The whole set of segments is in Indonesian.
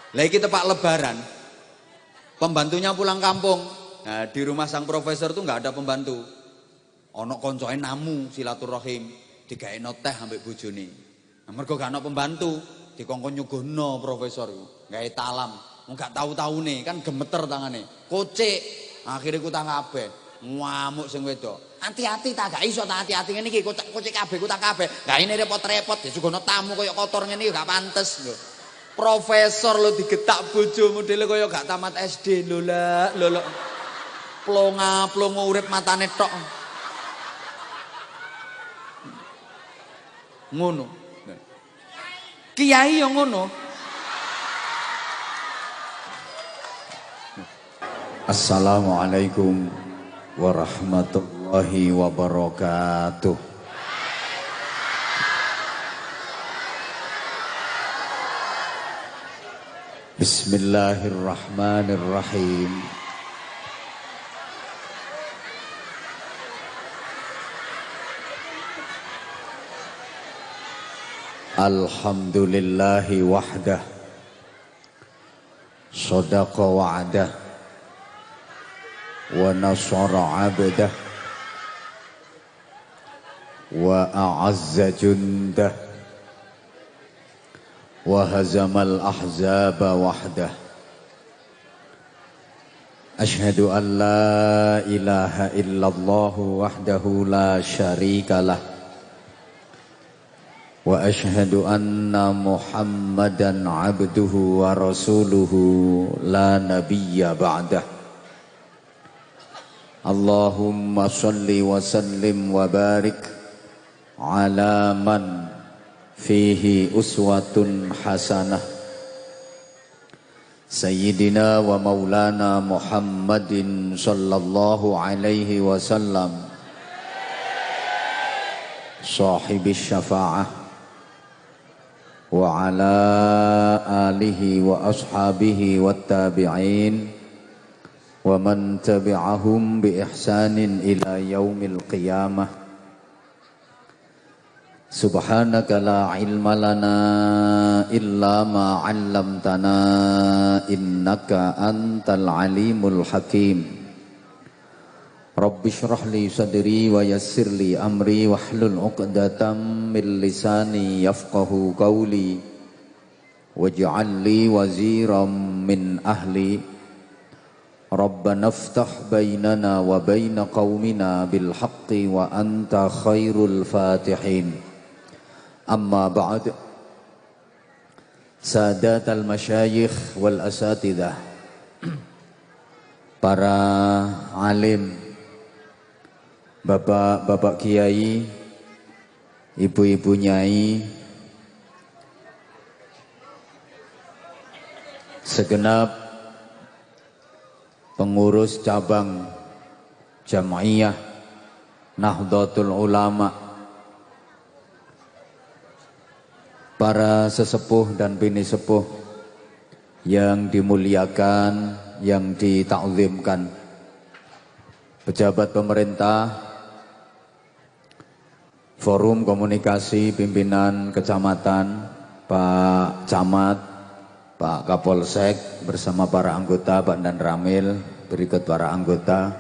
Lah iki tepak lebaran. Pembantunya pulang kampung. Nah, di rumah sang profesor tuh nggak ada pembantu. Ono koncoe namu silaturahim, digaekno teh ambek bojone. Nah, mergo gak ono pembantu, dikongkon nyuguhno profesor iku. Gawe talam. Wong gak tahu-taune kan gemeter tangane. Kocek. Akhire kutang kabeh. Ngamuk sing wedok. Hati-hati ta gak iso ta hati-hati ngene iki kocek kabeh kutang kabeh. Gak ini repot-repot disuguhno tamu koyo kotor ngene iki gak pantes lho. Profesor lo digetak bojo modele kaya gak tamat SD lho lah lho. Plonga-plongo urip matane tok. Ngono. Kiai yo ngono. Assalamualaikum warahmatullahi wabarakatuh. Bismillahirrahmanirrahim. Alhamdulillahi wahdah. Sadaqa wa'dah. Wa nasara 'abdah. Wa a'azza jundah. Wa hazamal ahzaba wahdah. Ashhadu an la ilaha illallah wahdahu la syarikalah. Wa ashhadu anna Muhammadan abduhu wa rasuluhu la nabiyya ba'dah. Allahumma salli wa sallim wa barik ala man fihi uswatun hasanah Sayyidina wa maulana Muhammadin sallallahu alaihi wasallam sahibis syafa'ah wa ala alihi wa ashabihi wat tabi'in wa man tabi'ahum bi ihsanin ila yaumil qiyamah. Subhanaka la ilma lana illa ma 'allamtana innaka antal alimul hakim. Rabbi shrah li sadri wa yassir li amri wahlul 'uqdatam min lisani yafqahu qawli waj'al li waziran min ahli. Rabbana iftah bainana wa baina qaumina bil haqqi wa anta khairul fatihin. Amma ba'd. Sadatal masyayikh wal asatidah, para alim, bapak-bapak kiai, ibu-ibu nyai, segenap pengurus cabang Jam'iyah Nahdlatul Ulama, para sesepuh dan bini sepuh yang dimuliakan, yang ditakzimkan, pejabat pemerintah, forum komunikasi pimpinan kecamatan, Pak Camat, Pak Kapolsek bersama para anggota, Pak Dan Ramil, berikut para anggota,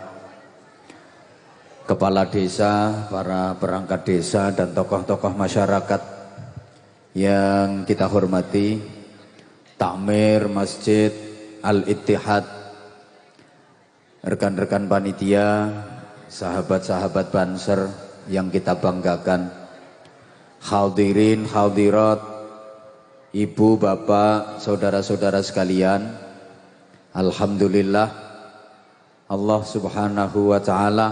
kepala desa, para perangkat desa dan tokoh-tokoh masyarakat yang kita hormati, takmir Masjid Al-Ittihad, rekan-rekan panitia, sahabat-sahabat Banser yang kita banggakan, hadirin hadirat, ibu, bapak, saudara-saudara sekalian. Alhamdulillah, Allah subhanahu wa ta'ala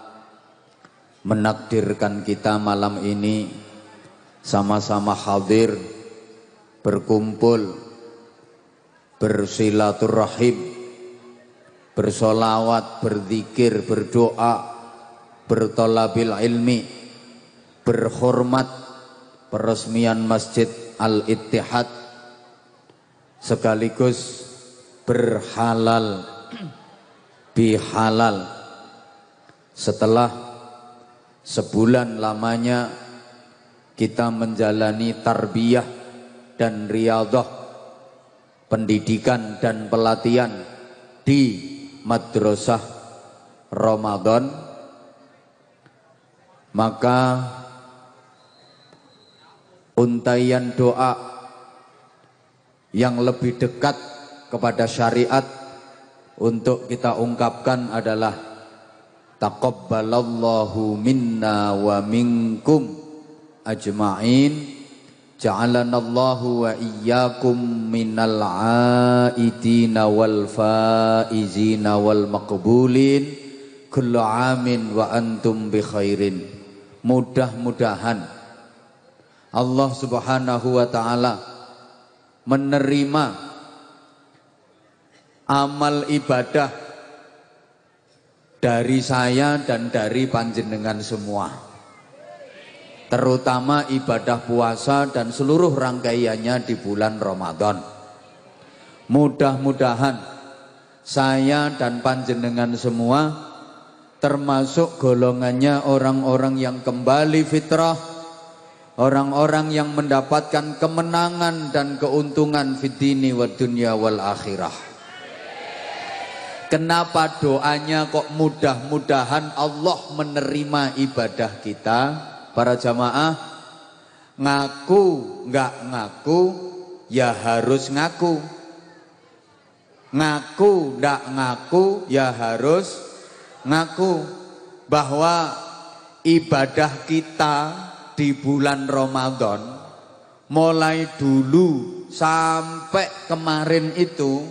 menakdirkan kita malam ini sama-sama hadir, berkumpul, bersilaturahim, bersolawat, berzikir, berdoa, bertolabil ilmi, berhormat peresmian Masjid Al-Ittihad, sekaligus berhalal bihalal setelah sebulan lamanya kita menjalani tarbiyah dan riyadhah pendidikan dan pelatihan di Madrasah Ramadan, maka untaian doa yang lebih dekat kepada syariat untuk kita ungkapkan adalah taqabbalallahu minna wa minkum ajma'in, ja'alanallahu wa iyyakum minal aidina wal faizina wal maqbulin kullu amin wa antum bi khairin. Mudah-mudahan Allah Subhanahu wa taala menerima amal ibadah dari saya dan dari panjenengan semua, terutama ibadah puasa dan seluruh rangkaiannya di bulan Ramadan. Mudah-mudahan saya dan panjenengan semua termasuk golongannya orang-orang yang kembali fitrah, orang-orang yang mendapatkan kemenangan dan keuntungan fid dini wad dunya wal akhirah. Kenapa doanya kok mudah-mudahan Allah menerima ibadah kita? Para jamaah, ngaku nggak ngaku ya harus ngaku, ngaku nggak ngaku ya harus ngaku bahwa ibadah kita di bulan Ramadan mulai dulu sampai kemarin itu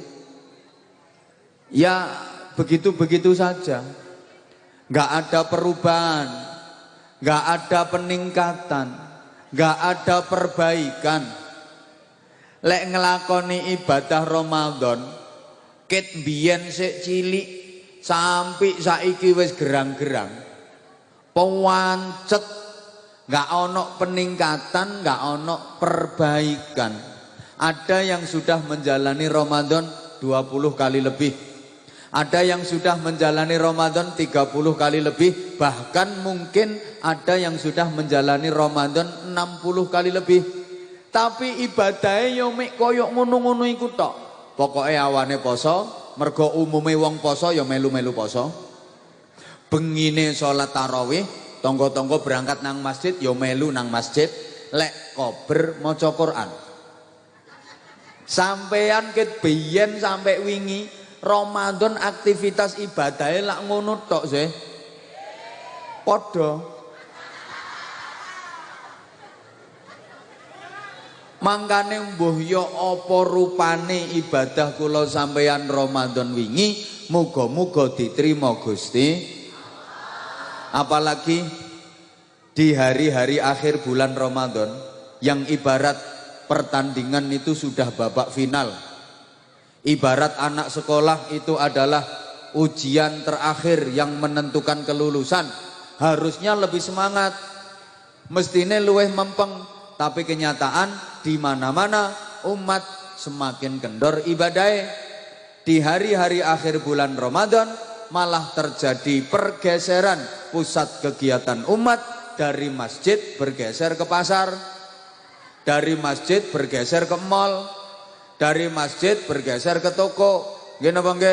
ya begitu-begitu saja, nggak ada perubahan, nggak ada peningkatan, nggak ada perbaikan. Lek ngelakoni ibadah Ramadan ket biyen sik cilik sampai saiki wis gerang-gerang, pewancet, nggak ono peningkatan, nggak ono perbaikan. Ada yang sudah menjalani Ramadan 20 kali lebih, ada yang sudah menjalani Ramadan 30 kali lebih, bahkan mungkin ada yang sudah menjalani Ramadan 60 kali lebih. Tapi ibadahnya yo mek koyok ngono-ngono iku tok. Pokoke awane poso, mergo umume wong poso ya melu-melu poso. Bengine salat tarawih, tonggo-tonggo berangkat nang masjid ya melu nang masjid, lek kober maca Quran. Sampean ket biyen sampai wingi Ramadan aktivitas ibadahnya lak ngono tok sih. Padha. Mangkane mbuh ya apa rupane ibadah kula sampeyan Ramadan wingi, muga-muga diterima Gusti. Apalagi di hari-hari akhir bulan Ramadan yang ibarat pertandingan itu sudah babak final. Ibarat anak sekolah itu adalah ujian terakhir yang menentukan kelulusan. Harusnya lebih semangat, mestine luweh mempeng. Tapi kenyataan di mana-mana umat semakin kendor ibadah. Di hari-hari akhir bulan Ramadan malah terjadi pergeseran pusat kegiatan umat dari masjid bergeser ke pasar, dari masjid bergeser ke mal, dari masjid bergeser ke toko. Nggih napa nggih?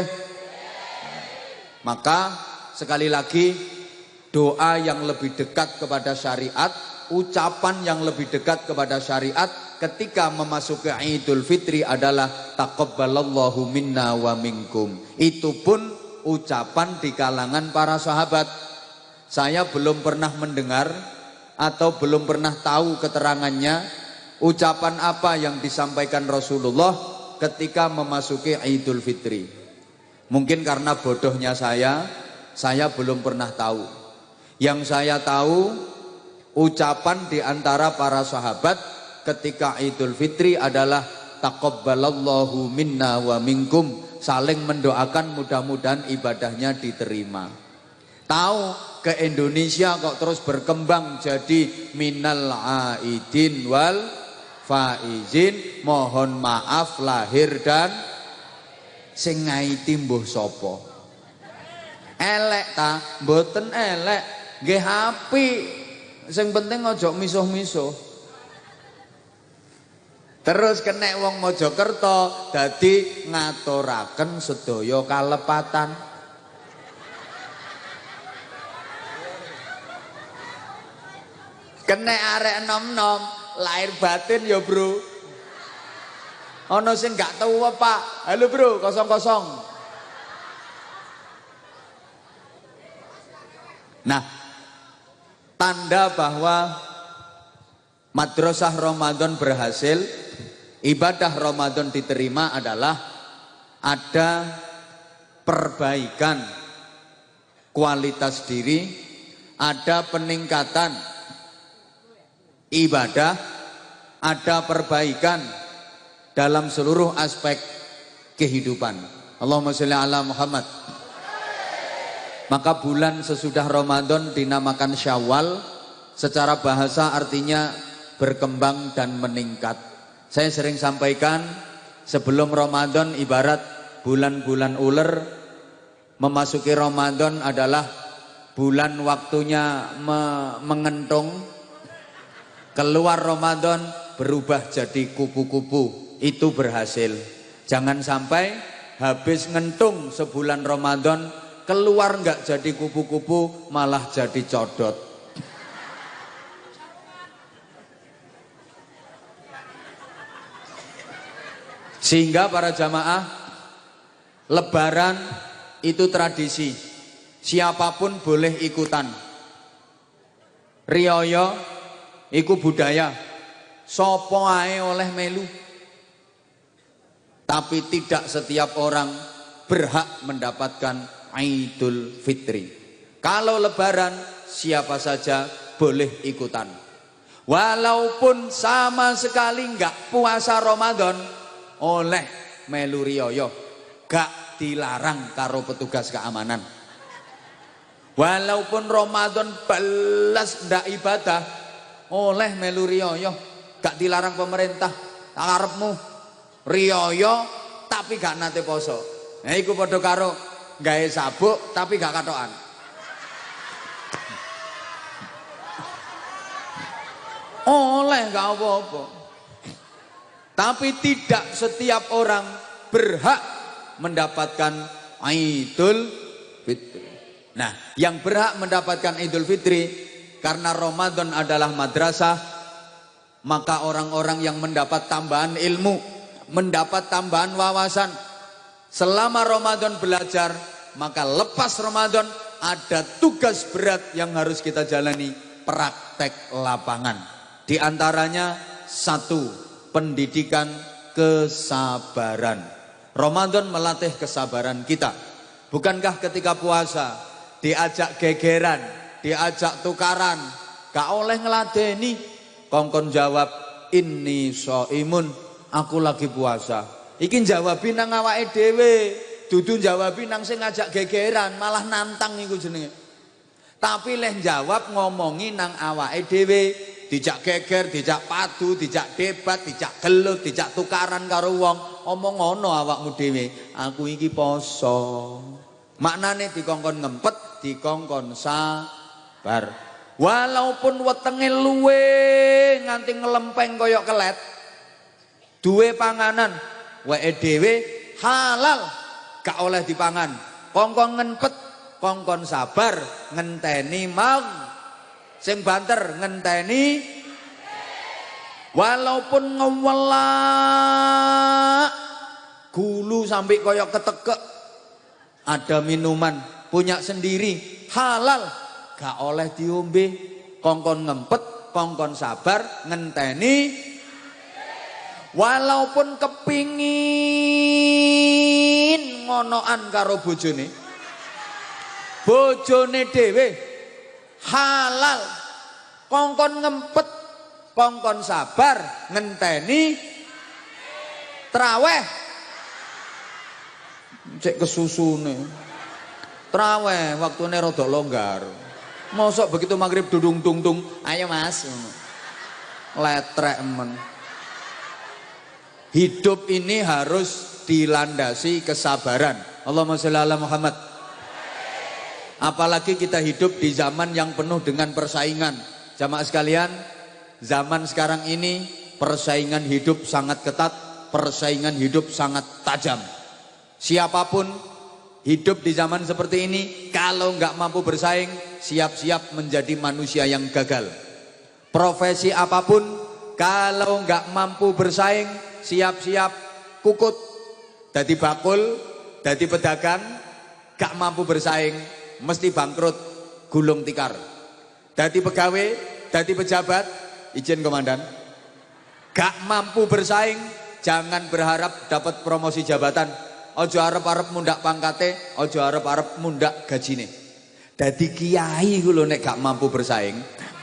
Maka sekali lagi doa yang lebih dekat kepada syariat, ucapan yang lebih dekat kepada syariat ketika memasuki Idul Fitri adalah taqabbalallahu minna wa minkum. Itu pun ucapan di kalangan para sahabat. Saya belum pernah mendengar atau belum pernah tahu keterangannya ucapan apa yang disampaikan Rasulullah ketika memasuki Idul Fitri. Mungkin karena bodohnya saya belum pernah tahu. Yang saya tahu, ucapan di antara para sahabat ketika Idul Fitri adalah taqabbalallahu minna wa minkum, saling mendoakan mudah-mudahan ibadahnya diterima. Tahu ke Indonesia kok terus berkembang jadi minal aidin wal faizin, mohon maaf lahir dan sing ngaiti mbuh sapa? Elek ta? Mboten elek, nggih apik. Sing penting ojo misuh-misuh. Terus kena wong Mojokerto dadi ngaturaken sedaya kalepatan. Kena arek enom-enom lahir batin ya bro. Ono sing gak tahu apa. Halo bro, kosong-kosong. Nah, tanda bahwa madrasah Ramadan berhasil, ibadah Ramadan diterima adalah ada perbaikan kualitas diri, ada peningkatan ibadah, ada perbaikan dalam seluruh aspek kehidupan. Allahumma sholli ala Muhammad. Maka bulan sesudah Ramadan dinamakan Syawal, secara bahasa artinya berkembang dan meningkat. Saya sering sampaikan, sebelum Ramadan ibarat bulan-bulan ular, memasuki Ramadan adalah bulan waktunya mengentung, keluar Ramadan berubah jadi kupu-kupu. Itu berhasil. Jangan sampai habis ngentung sebulan Ramadan, keluar nggak jadi kupu-kupu, malah jadi codot. Sehingga para jamaah, Lebaran itu tradisi, siapapun boleh ikutan. Riyaya iku budaya, sopo ae oleh melu. Tapi tidak setiap orang berhak mendapatkan Idul Fitri. Kalau Lebaran siapa saja boleh ikutan. Walaupun sama sekali nggak puasa Ramadan, oleh melu riyaya, gak dilarang karo petugas keamanan. Walaupun Ramadan belas ndak ibadah, oleh melu riyaya, gak dilarang pemerintah. Tak karepmu riyaya tapi gak nate poso. Nah iku padha karo gawe sabuk tapi gak katokan. Oleh gak apa-apa. Tapi tidak setiap orang berhak mendapatkan Idul Fitri. Nah, yang berhak mendapatkan Idul Fitri karena Ramadan adalah madrasah, maka orang-orang yang mendapat tambahan ilmu, mendapat tambahan wawasan selama Ramadan belajar, maka lepas Ramadan ada tugas berat yang harus kita jalani, praktek lapangan. Di antaranya satu, pendidikan kesabaran. Ramadan melatih kesabaran kita. Bukankah ketika puasa diajak gegeran, diajak tukaran, gak oleh ngeladeni, kongkon jawab inni shaimun, aku lagi puasa. Iki jawabin nang awake dhewe, dudu jawabin nang sing ngajak gegeran, malah nantang iku jenenge. Tapi leh jawab ngomongi nang awake dhewe, dijak geger, dijak padu, dijak debat, dijak gelut, dijak tukaran karo wong, omong ngono awakmu dhewe, aku iki poso. Maknane dikongkon ngempet, dikongkon sabar. Walaupun wetenge luwe nganti ngelempeng koyok kelet, duwe panganan wae dhewe halal gak oleh dipangan. Kongkon ngempet, kongkon sabar, ngenteni mau sing banter ngenteni. Walaupun ngewelak gulu sampai koyok ketekek, ada minuman punya sendiri halal gak oleh diombe. Kongkon ngempet, kongkon sabar, ngenteni. Walaupun kepingin ngonoan karo bojone, bojone dhewe halal, kongkon ngempet, kongkon sabar, ngenteni. Traweh cek kesusune, traweh waktune rada longgar. Mosok begitu maghrib dudung tung tung, ayo mas, letrek men. Hidup ini harus dilandasi kesabaran. Allahumma sholli ala Muhammad. Apalagi kita hidup di zaman yang penuh dengan persaingan. Jamaah sekalian, zaman sekarang ini persaingan hidup sangat ketat, persaingan hidup sangat tajam. Siapapun hidup di zaman seperti ini, kalau nggak mampu bersaing, siap-siap menjadi manusia yang gagal. Profesi apapun, kalau nggak mampu bersaing, siap-siap kukut. Dadi bakul, dadi pedagang, gak mampu bersaing, mesti bangkrut, gulung tikar. Dadi pegawai, dadi pejabat, izin komandan, gak mampu bersaing, jangan berharap dapat promosi jabatan. Ojo arep-arep mundak pangkate, ojo arep-arep mundak gajine. Dadi kiai ku lho nek gak mampu bersaing.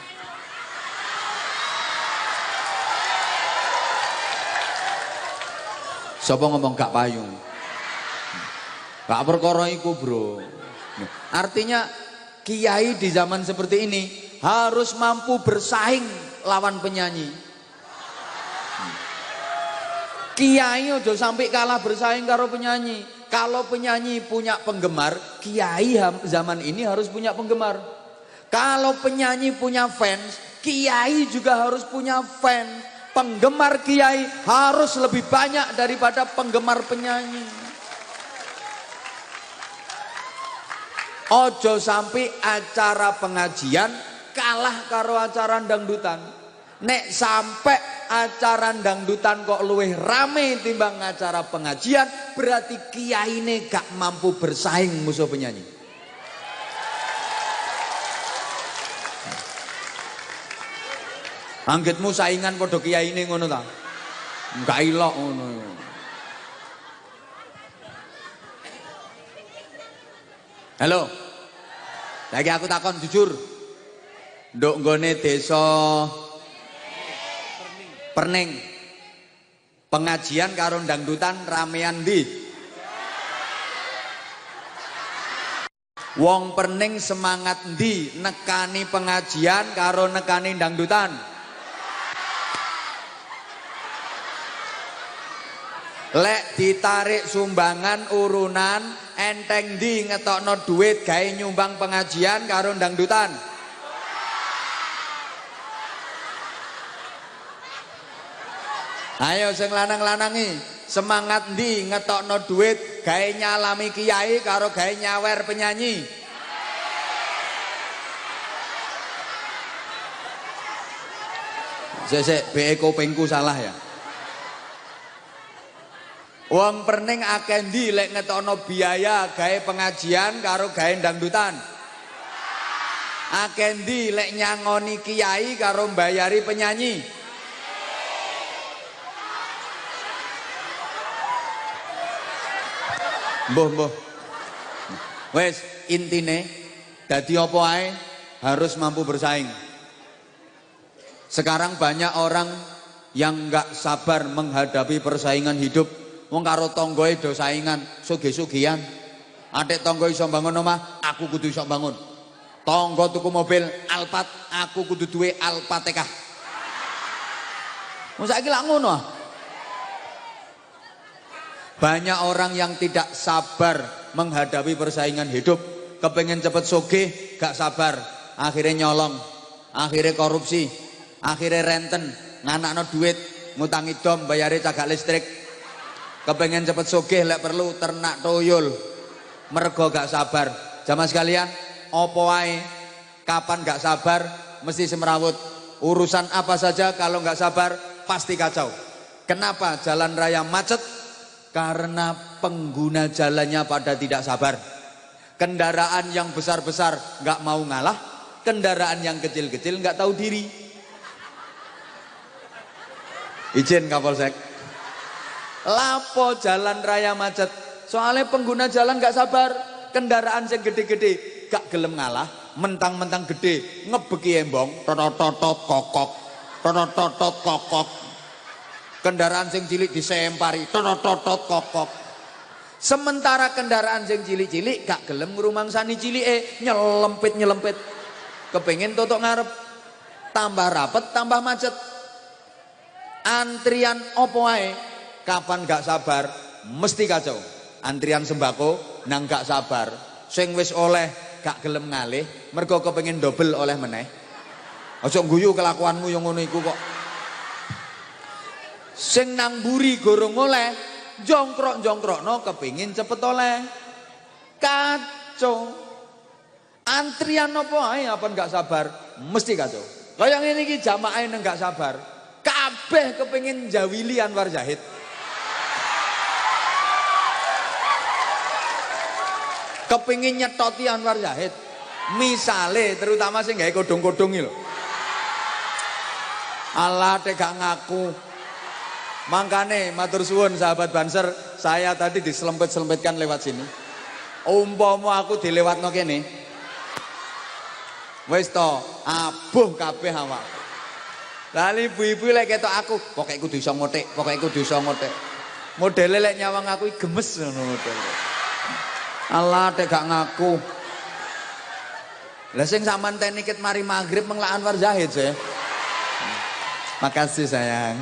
Sapa ngomong gak payu? Gak perkara iku, Bro. Artinya kiai di zaman seperti ini harus mampu bersaing lawan penyanyi. Kiai ojo sampai kalah bersaing karo penyanyi. Kalau penyanyi punya penggemar, kiai zaman ini harus punya penggemar. Kalau penyanyi punya fans, kiai juga harus punya fans. Penggemar kiai harus lebih banyak daripada penggemar penyanyi. Ojo sampai acara pengajian kalah karo acara dangdutan. Nek sampai acara dangdutan kok luwih rame timbang acara pengajian, berarti kiai ini gak mampu bersaing musuh penyanyi. Anggitmu saingan padha kiyaine ngono ta? Enggak ilok ngono. Halo. Lagi aku takon jujur. Nduk nggone desa Perning. Pengajian karo dangdutan ramean ndi? Wong Perning semangat ndi nekani pengajian karo nekani dangdutan? Lek ditarik sumbangan urunan enteng di ngetokno duit gawe nyumbang pengajian karo dangdutan. Ayo sing lanang-lanangi, semangat ndi ngetokno duit gawe nyalami kiai karo gawe nyawer penyanyi. Sesek BE kupingku salah ya. Wong Perning akeh ndi lek ngetokno biaya gawe pengajian karo gawe dangdutan. Akeh ndi lek nyangoni kiai karo mbayari penyanyi. Mbah. Wes intine dadi apa ae harus mampu bersaing. Sekarang banyak orang yang nggak sabar menghadapi persaingan hidup. Wong karo tanggoe do saingan, sugih-sugihan. Atik tangga iso bangun omah, aku kudu iso bangun. Tangga tuku mobil Alphard, aku kudu duwe Alphateka. Wong saiki lak ngono ah. Banyak orang yang tidak sabar menghadapi persaingan hidup, kepengen cepet sugih, gak sabar, akhirnya nyolong, akhirnya korupsi, akhirnya renten, nganakno duit, ngutangi dom, bayare cagak listrik. Kepengen cepet sugih lek perlu ternak toyol, mergo gak sabar. Jamaah sekalian, opo wae kapan gak sabar mesti semrawut. Urusan apa saja kalau gak sabar pasti kacau. Kenapa jalan raya macet? Karena pengguna jalannya pada tidak sabar. Kendaraan yang besar-besar gak mau ngalah, kendaraan yang kecil-kecil gak tahu diri. Izin Kapolsek. Lapo jalan raya macet? Soalnya pengguna jalan gak sabar. Kendaraan yang gede-gede gak gelem ngalah, mentang-mentang gede ngebeki embong, totot kokok, totot kokok. Kendaraan sing cilik disempari, totot kokok. Sementara kendaraan sing cilik-cilik gak gelem ngrumangsani cilike, nyelempit. Kepengen totok ngarep. Tambah rapet, tambah macet. Antrian opo wae kapan gak sabar mesti kacau. Antrian sembako nang gak sabar, sing wis oleh gak gelem ngalih mergo kepengin double oleh meneh. Aja guyu kelakuanmu yang ngono iku kok. Sing nang mburi gorong oleh, jongkrok-jongkrokno kepingin cepet oleh. Kacau. Antrian apa ae apa enggak sabar, mesti kacau. Kaya ngene iki jamaah enggak sabar. Kabeh kepingin jawili Anwar Zahid. Kepingin nyetoti Anwar Zahid. Misale terutama sing gawe kodong-kodong iki lho. Allah teh gak ngaku. Mangkane matur suwun sahabat Banser, saya tadi diselempet-selempetkan lewat sini. Umpama aku dilewatno kene. Wis to, abuh kabeh awak. Lah ibu-ibu lek ketok aku, pokoke kudu iso ngotek, pokoke kudu iso ngotek. Modele lek nyawang aku iki gemes ngono modele. Allah teh gak ngaku. Lah sing sampean tenikit mari maghrib menglak Anwar Zahid sih. Makasih sayang.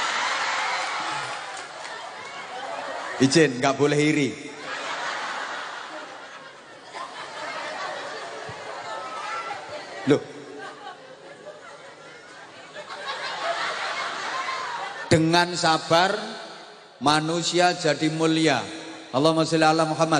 Izin, nggak boleh iri. Loh. Dengan sabar manusia jadi mulia. Allahumma sholli ala Muhammad.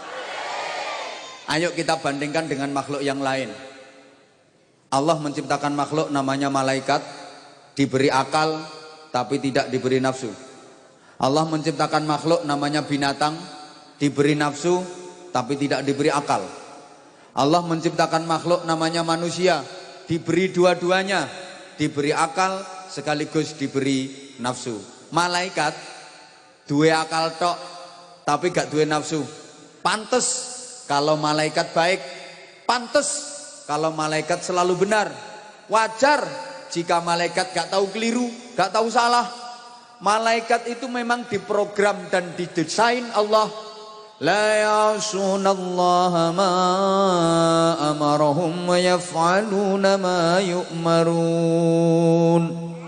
Ayo kita bandingkan dengan makhluk yang lain. Allah menciptakan makhluk namanya malaikat, diberi akal tapi tidak diberi nafsu. Allah menciptakan makhluk namanya binatang, diberi nafsu tapi tidak diberi akal. Allah menciptakan makhluk namanya manusia, diberi dua-duanya, diberi akal sekaligus diberi nafsu. Malaikat dua akal tok tapi gak dua nafsu. Pantes kalau malaikat baik, pantes kalau malaikat selalu benar. Wajar jika malaikat gak tahu keliru, gak tahu salah. Malaikat itu memang diprogram dan didesain Allah. La ya'sunallaha ma amarahum wa yaf'aluna ma yu'marun.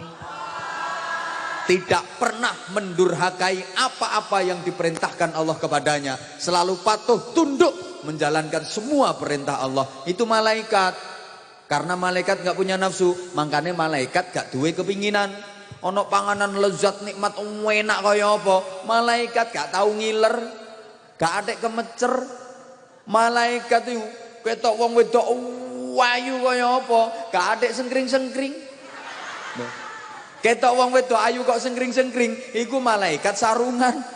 Tidak pernah mendurhakai apa-apa yang diperintahkan Allah kepadanya. Selalu patuh tunduk menjalankan semua perintah Allah. Itu malaikat. Karena malaikat gak punya nafsu, makanya malaikat gak duwe kepinginan. Ono panganan lezat nikmat enak kaya apa, malaikat gak tahu ngiler, gak adek kemecer. Malaikat itu ketok wong wedok ayu kaya apa, gak adek sengkring-sengkring. Ketok wong wedok ayu kok sengkring-sengkring, iku malaikat sarungan.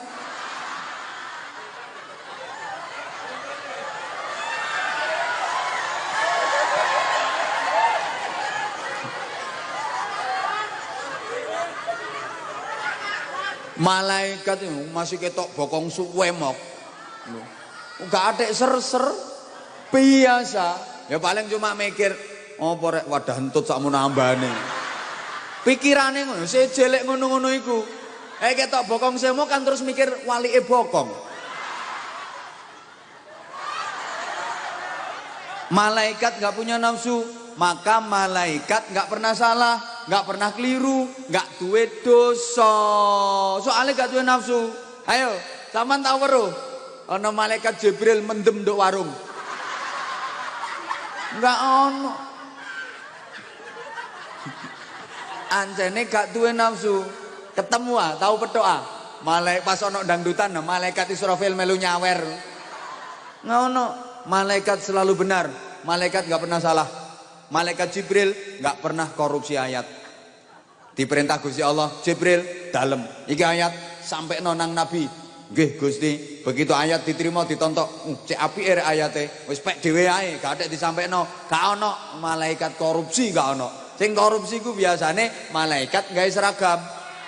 Malaikat itu masih ketok bokong suwe mok. Gak ada ser-ser biasa. Ya paling cuma mikir, oh porek wadah entut sakmu nambane. Pikirane ngono, sejelek ngono-ngono iku. Ketok bokong semo kan terus mikir walike bokong. Malaikat gak punya nafsu, maka malaikat gak pernah salah, gak pernah keliru, gak duwe dosa. Soalnya gak duwe nafsu. Ayo, sampean tau weruh ana malaikat Jibril mendem nduk warung. Enggak ono. Anjene gak duwe nafsu. Ketemu tahu petok malaikat pas ono dangdutan malaikat Israfil melu nyawer. Ngono. Malaikat selalu benar, malaikat gak pernah salah. Malaikat Jibril gak pernah korupsi ayat. Diperintah Gusti Allah, Jibril dalem iki ayat sampai nonang Nabi. Nggih Gusti, begitu ayat diterima ditontok, cek apike rek ayate, wis pek dhewe ae, gak ada disampaikno. Gak ono malaikat korupsi, gak ono. Sing korupsi ku biasane malaikat gawe seragam.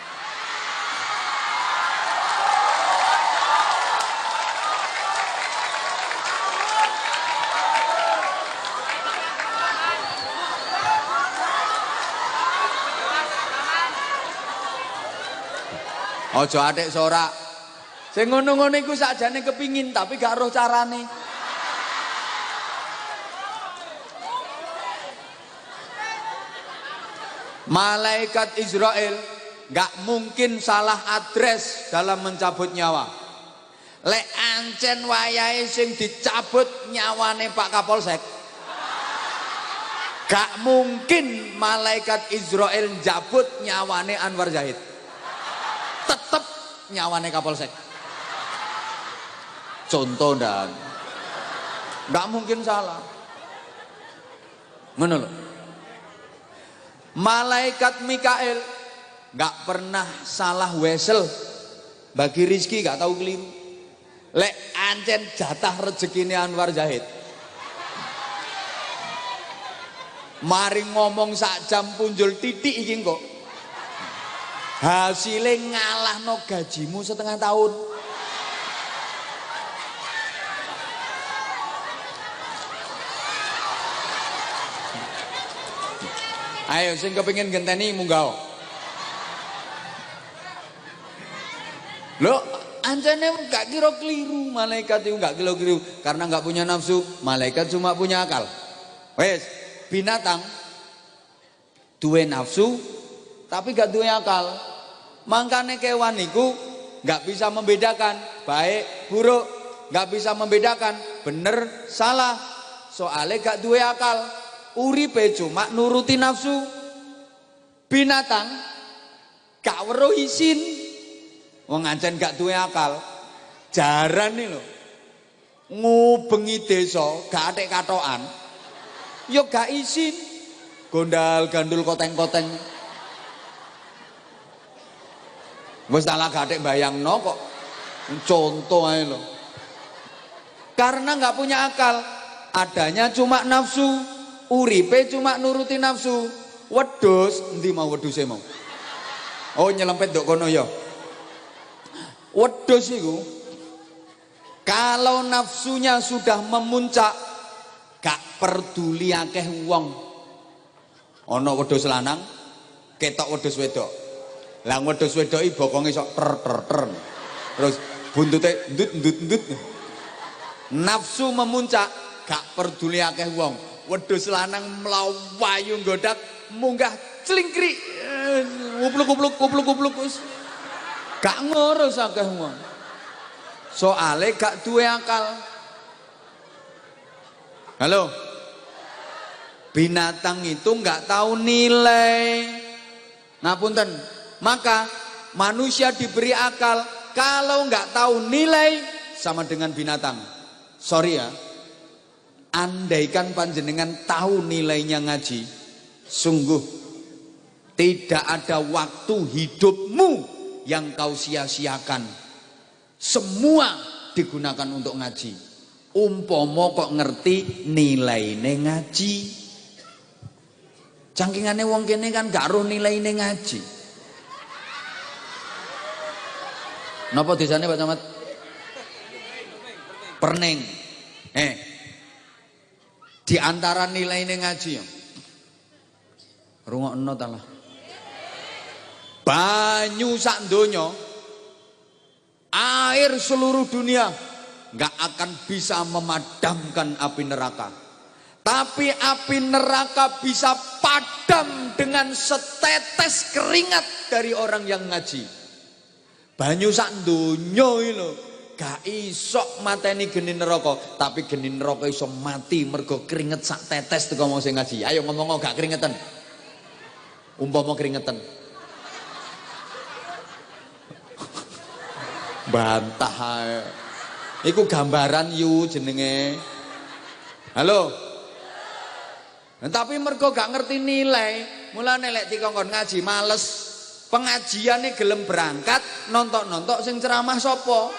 Ojo adek sorak. Sing ngono-ngono iku sakjane kepingin tapi gak roh carane. Malaikat Israel gak mungkin salah address dalam mencabut nyawa. Lek ancen wayahe sing dicabut nyawane Pak Kapolsek. Gak mungkin malaikat Israel njabut nyawane Anwar Zahid. nyawane Kapolsek. Contoh dan nggak mungkin salah. Ngono lho. Malaikat Mikael nggak pernah salah wesel bagi rizki, nggak tahu keliru. Lek ancen jatah rezekine Anwar Zahid. Mari ngomong sak jam punjul titik iki kok. Hasilnya ngalahno gajimu setengah tahun. Ayo sing kepengin genteni munggah. Loh, ancene gak kira keliru, malaikat itu gak kira keliru karena gak punya nafsu, malaikat cuma punya akal. Wes, binatang duwe nafsu tapi gak duwe akal. Mangkane kewan niku gak bisa membedakan baik buruk, gak bisa membedakan bener salah, soalnya gak duwe akal. Uripe cuma nuruti nafsu. Binatang gak weruh isin, wong ancen gak duwe akal. Jarane lho ngubengi desa gak atek katokan ya gak isin, gondal gandul koteng-koteng. Wis salah gak atek bayangno kok. Contoh ae lho. Karena gak punya akal, adanya cuma nafsu. Uripe cuma nuruti nafsu. Wedhus, endi mau wedhuse mau? Oh nyelempet ndok kono ya. Wedhus iku kalau nafsunya sudah memuncak gak peduli akeh wong. Ana wedhus lanang ketok wedhus wedok. Lah wedhus wedok iki bokonge sok ter. Terus buntute ndut. Nafsu memuncak gak peduli akeh wong. Wedhus lanang mlawayu nggodak munggah clingkrik kupluk gak ngurus akeh wong, soale gak duwe akal. Halo, binatang itu gak tahu nilai. Ngapunten, maka manusia diberi akal. Kalau gak tahu nilai sama dengan binatang. Sorry ya, andaikan panjenengan tahu nilainya ngaji, sungguh tidak ada waktu hidupmu yang kau sia-siakan. Semua digunakan untuk ngaji. Umpomo kok ngerti nilainya ngaji. Cangkingane wong kene kan gak roh nilainya ngaji. Napa desane Pak Camat? Perning. Di antara nilainya ngaji ya. Rungokno ta lah. Banyu sak donya, air seluruh dunia nggak akan bisa memadamkan api neraka. Tapi api neraka bisa padam dengan setetes keringat dari orang yang ngaji. Banyu sak donya iki lho, gak iso mateni geni neraka, tapi geni neraka iso mati mergo keringet sak tetes teko wong sing ngaji. Ayo ngomong gak keringetan. Umpama keringetan. Bantah ae. Iku gambaran yu jenenge. Halo. Nah, tapi mergo gak ngerti nilai, mulane lek dikongkon ngaji males. Pengajiane gelem berangkat, nontok-nontok sing ceramah sapa?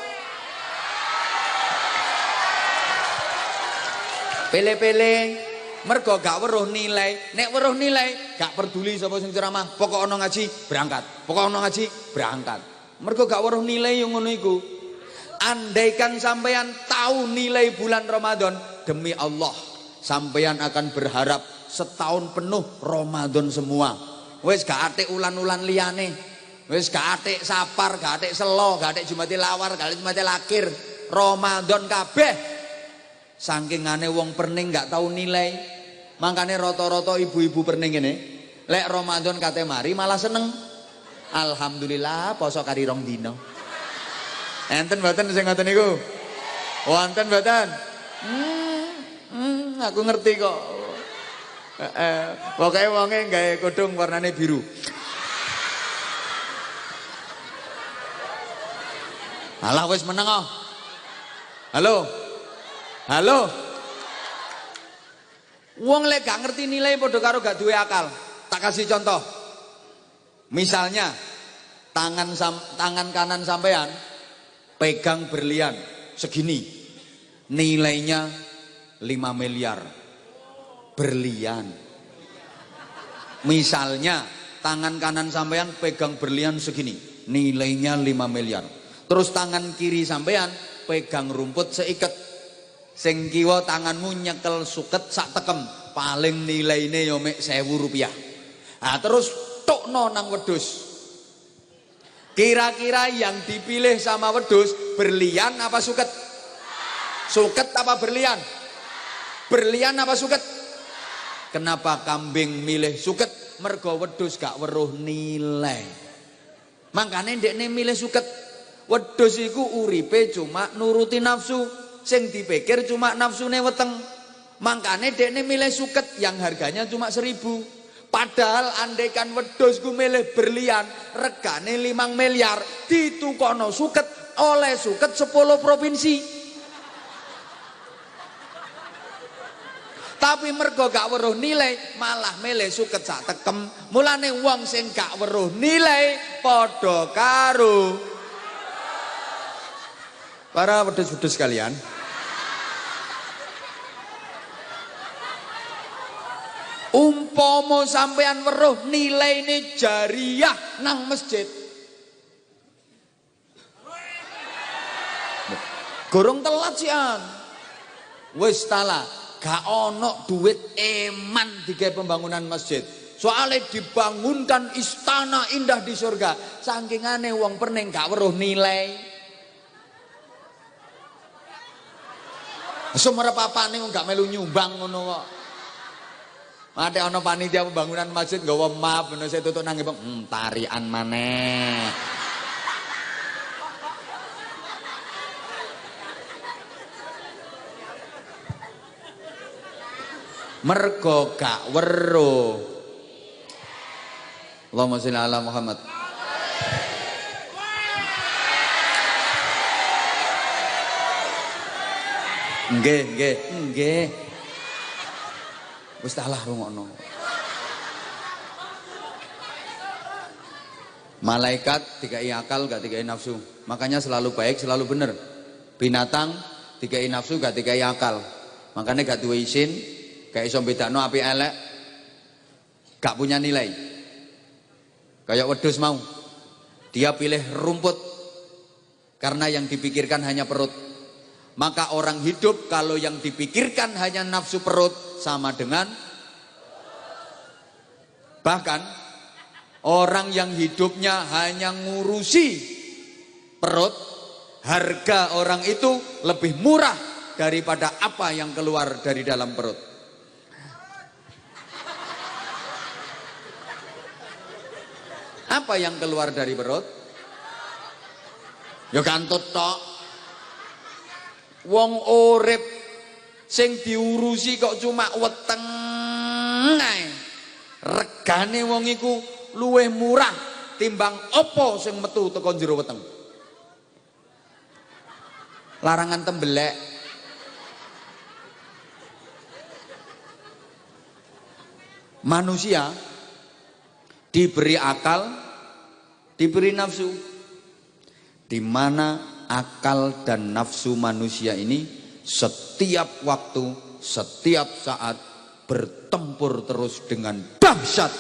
Pele-pele, mergo gak weruh nilai. Nek weruh nilai, gak peduli sapa sing ceramah. Pokok ana ngaji, berangkat. Pokok ana ngaji, berangkat. Mergo gak weruh nilai yang ngono iku. Andaikan sampeyan tahu nilai bulan Ramadan, demi Allah, sampeyan akan berharap setahun penuh Ramadan semua. Wis gak atik ulan-ulan liyane. Wis gak atik sapar, gak atik selo, gak atik Jumati Lawar, gak atik Jumati Lakir. Ramadan kabeh. Sangkingane wong perning gak tahu nilai. Makane rata-rata ibu-ibu perning ngene, lek Ramadan kate mari malah seneng. Alhamdulillah poso kari 2 dina. Enten mboten sing ngoten niku? Wonten mboten? Aku ngerti kok. Pokoke wonge gawe kodhong warnane biru. Alah wis meneng oh. Halo. Halo. Wong lek gak ngerti nilai padha karo gak duwe akal. Tak kasih contoh. Misalnya tangan kanan sampean pegang berlian segini. Nilainya 5 miliar. Berlian. Misalnya tangan kanan sampean pegang berlian segini. Nilainya 5 miliar. Terus tangan kiri sampean pegang rumput seiket. Sing kiwa tanganmu nyekel suket sak tekem, paling nilaine yo mek 1000 rupiah. Nah, terus tokno nang wedhus. Kira-kira yang dipilih sama wedhus berlian apa suket? Suket apa berlian? Berlian apa suket? Kenapa kambing milih suket? Mergo wedhus gak weruh nilai. Makane ndekne milih suket. Wedhus iku uripe cuma nuruti nafsu. Sing dipikir cuma nafsune weteng. Makane dekne milih suket yang harganya cuma 1000. Padahal andaikan wedhus ku milih berlian regane 5 miliar, ditukono suket oleh suket 10 provinsi. Tapi mergo gak weruh nilai malah milih suket sak tekem. Mulane wong sing gak weruh nilai padha karo para wedhus-wedhus sekalian. Umpomo sampean weruh nilai ini jariah nang masjid. Gorong telat sian. Wis tala, gak ono duit eman digawe pembangunan masjid. Soalnya dibangunkan istana indah di surga. Sangkingane wong pening gak weruh nilai. Sumerep apane gak melu nyumbang ngono kok. Ada ono panitia pembangunan masjid nggawa map ngono saya tutuk nang tarian maneh. Mergo gak weruh. Allahumma sholli ala Muhammad. Nggih. Wis talah rungokno. Malaikat dikai akal gak dikai nafsu. Makanya selalu baik, selalu benar. Binatang dikai nafsu gak dikai akal. Makanya gak duwe isin, gak iso bedakno apik elek. Gak punya nilai. Kayak wedhus mau. Dia pilih rumput karena yang dipikirkan hanya perut. Maka orang hidup kalau yang dipikirkan hanya nafsu perut sama dengan, bahkan orang yang hidupnya hanya ngurusi perut, harga orang itu lebih murah daripada apa yang keluar dari dalam perut. Apa yang keluar dari perut? Ya kantut tok. Wong urip sing diurusi kok cuma weteng ae. Regane wong iku luwih murah timbang apa sing metu teko jero weteng. Larangan tembelek. Manusia diberi akal, diberi nafsu. Di mana akal dan nafsu manusia ini setiap waktu, setiap saat bertempur terus dengan dahsyat.